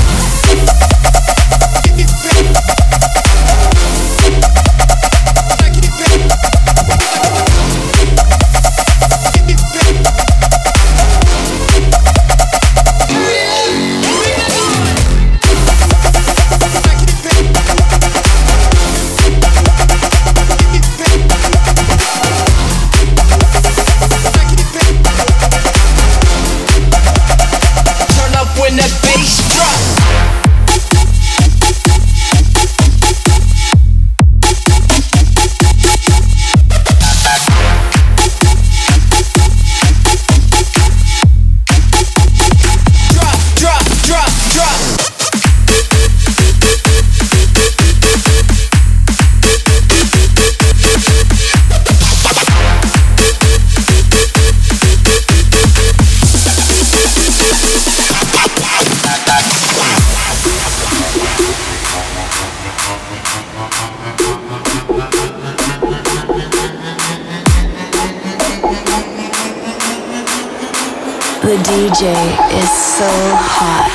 The DJ is so hot.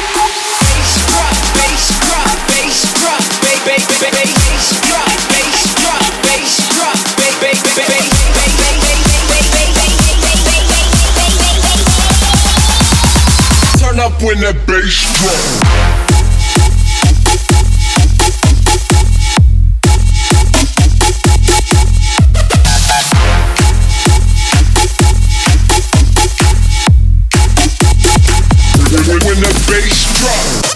Turn up when that bass drop. When the bass drop.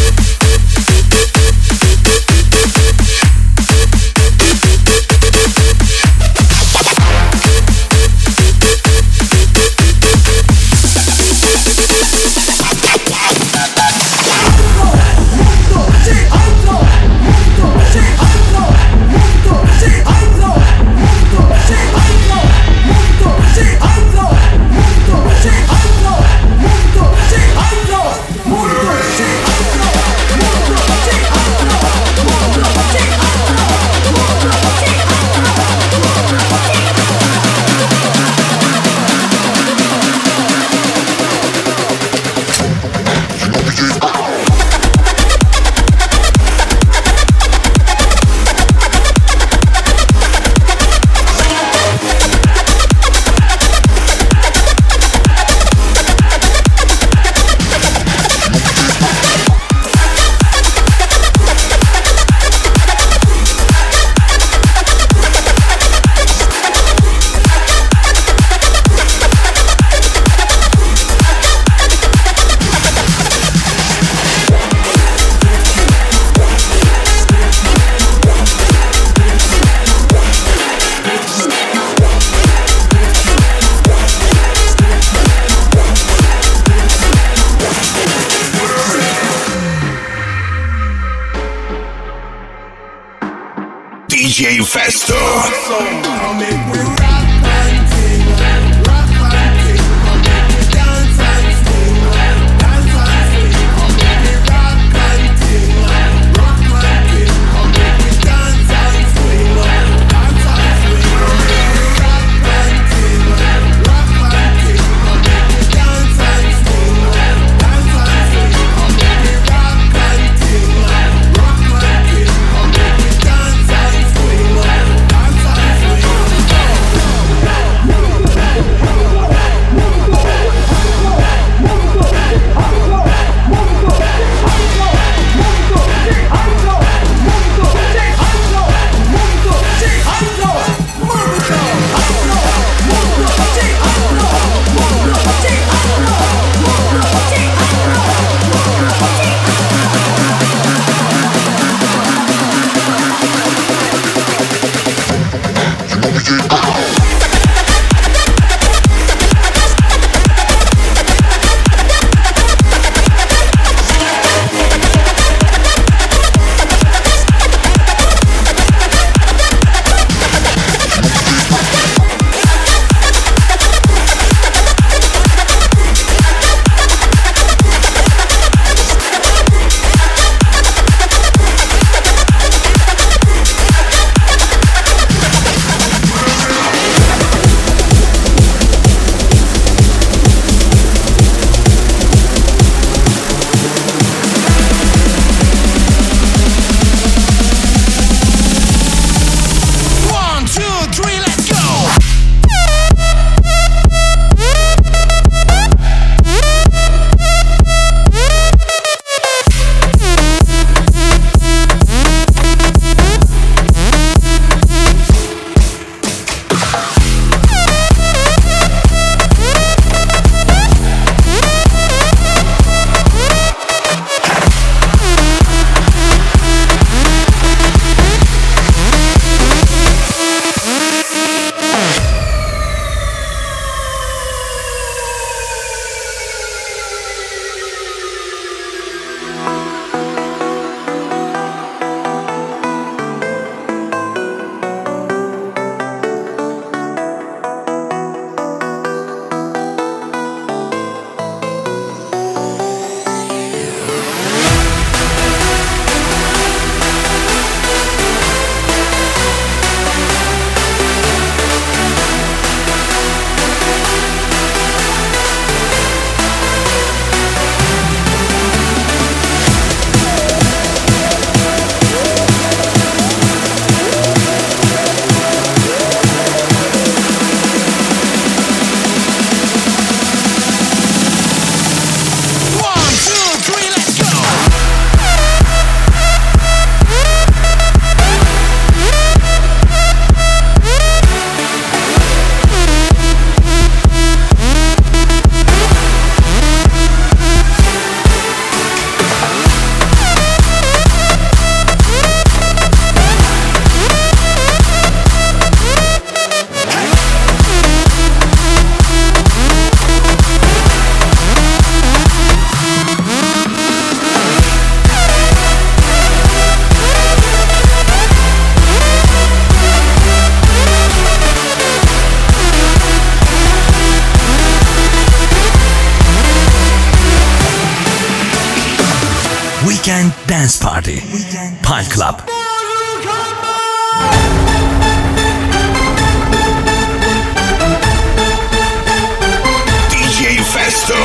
DJ Festo. Weekend Dance Party. Pine Club. DJ Festo.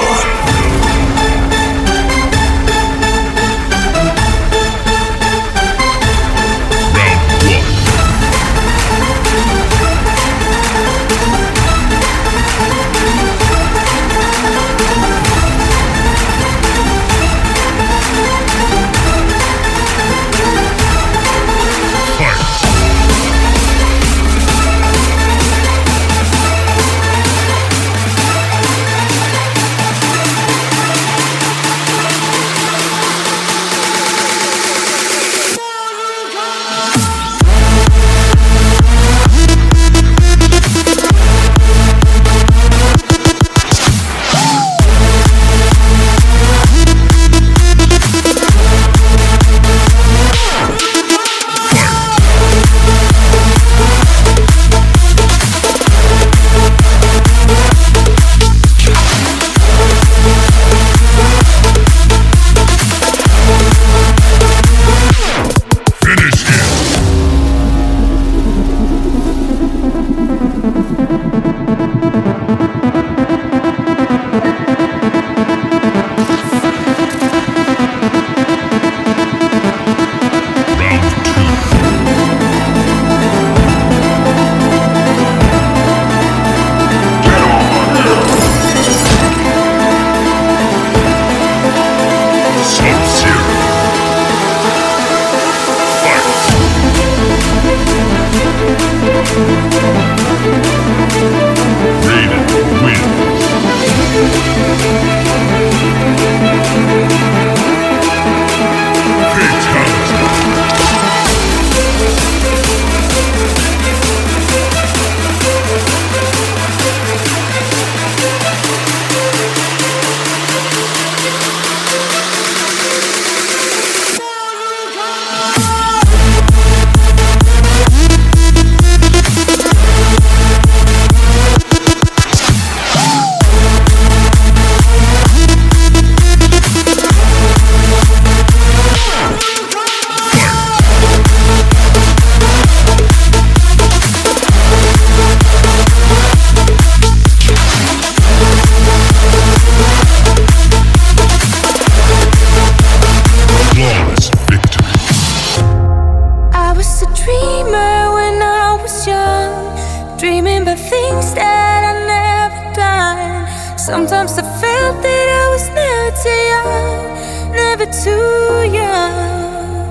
Sometimes I felt that I was never too young, never too young.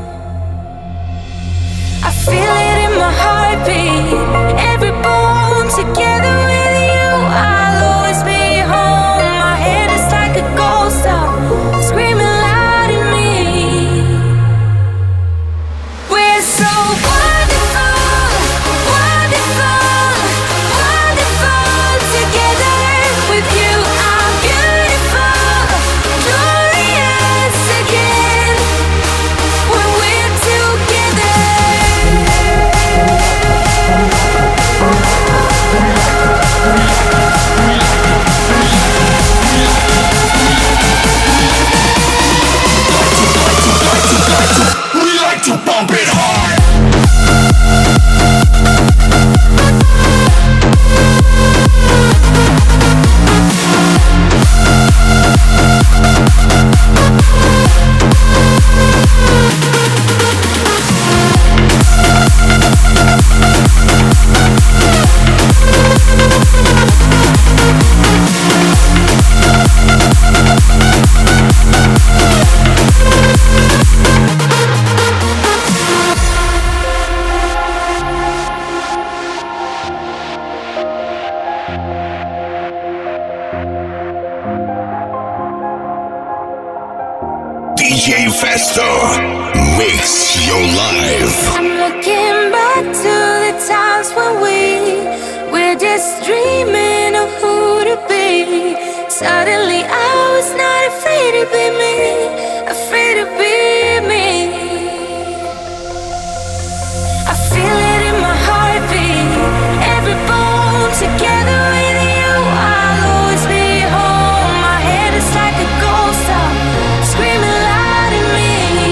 I feel it in my heartbeat, every bone together with you. I'll always be home. My head is like a ghost town, screaming loud in me. We're so wonderful, wonderful, wonderful together with you. I'm beautiful, glorious again when we're together. We like to bump it hard. DJ Festo makes your life. I'm looking back to the times when we're just dreaming of who to be. Suddenly I was not afraid to be me, afraid to be me. I feel it in my heartbeat, every bone together with you. I'll always be home. My head is like a ghost town, screaming loud in me.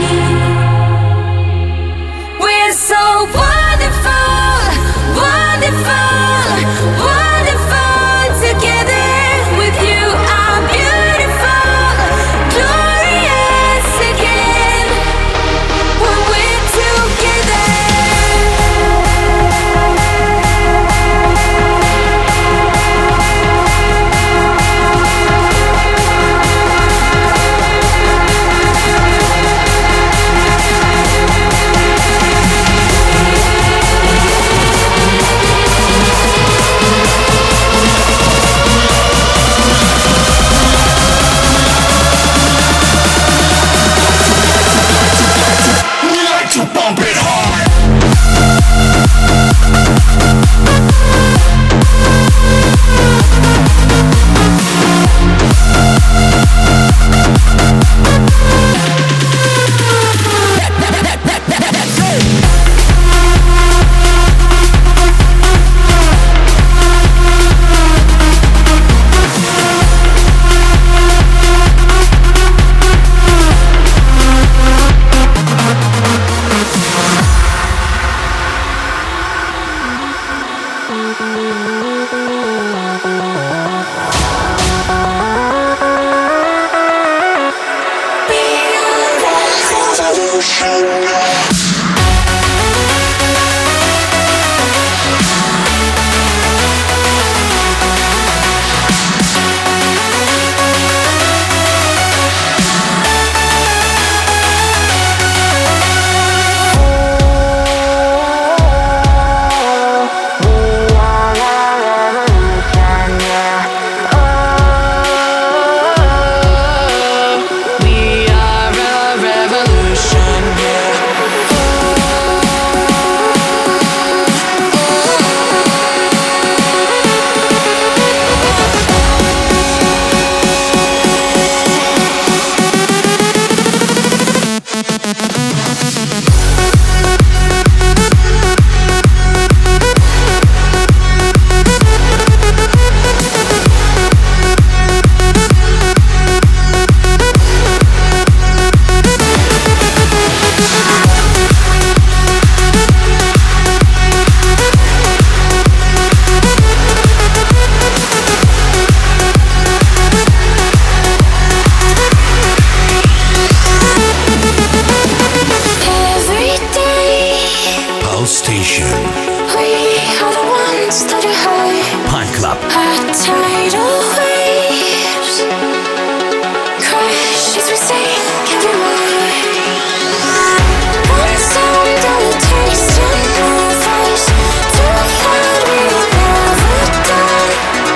tidal waves crash as we sink every wave. One sound and a taste in our face, too loud we've never done.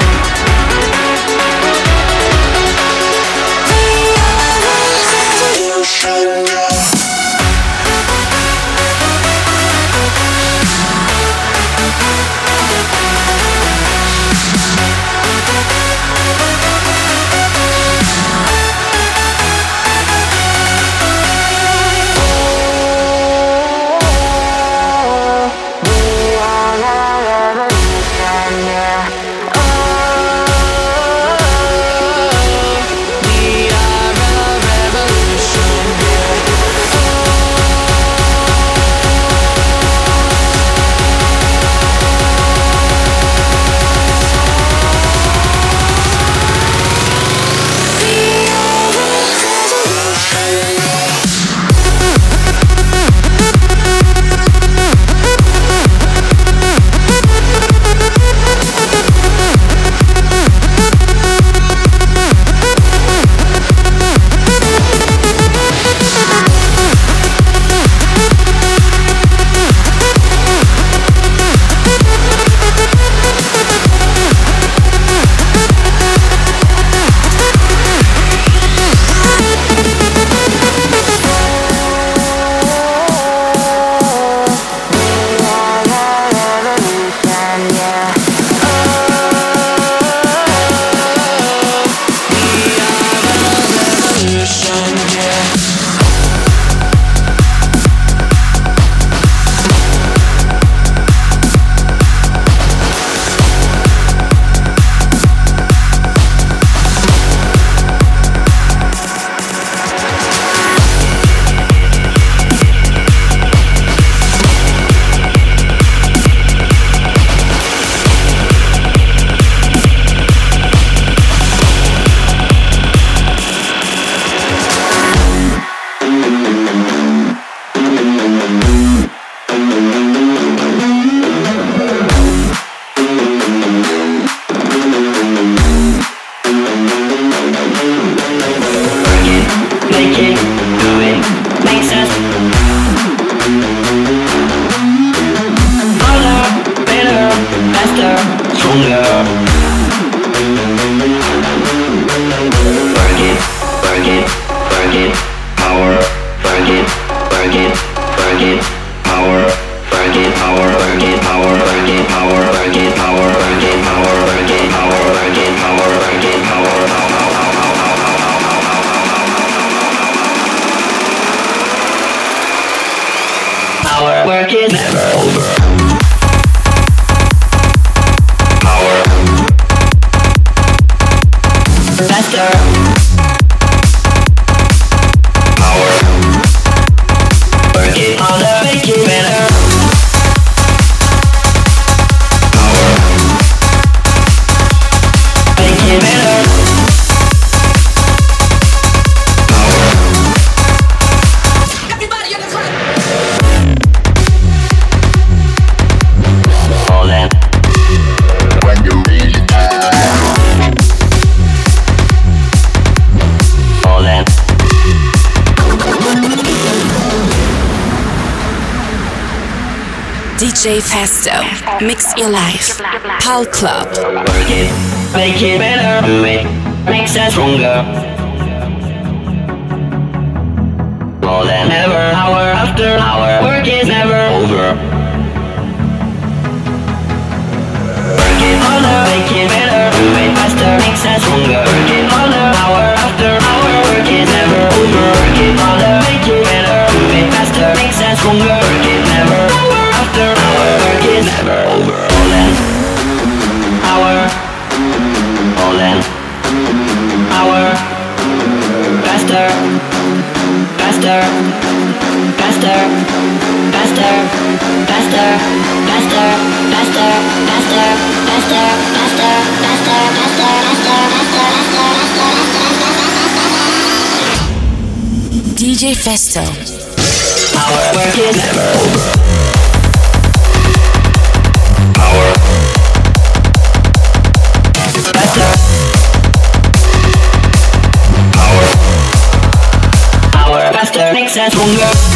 We are the revolution. Work is never over. Faster. Power. Work it harder, make it better. Power. Make it better. Power. Everybody on the track. All that. When you need it. DJ Festo, mix your life. Pal Club. Work it, make it better, do it, makes us stronger. More than ever, hour after hour, work is never over. Work it harder, make it better, do it faster, makes us stronger. Work it harder, hour after hour, work is never over. Work it harder, make it better, do it faster, makes us stronger. Work it never hour after hour, work is never over. All in, hour, all in, hour, faster, faster, faster, faster, faster, faster, faster, faster, faster, faster, faster, faster, DJ Festo. Our work is never over. Power. makes us stronger.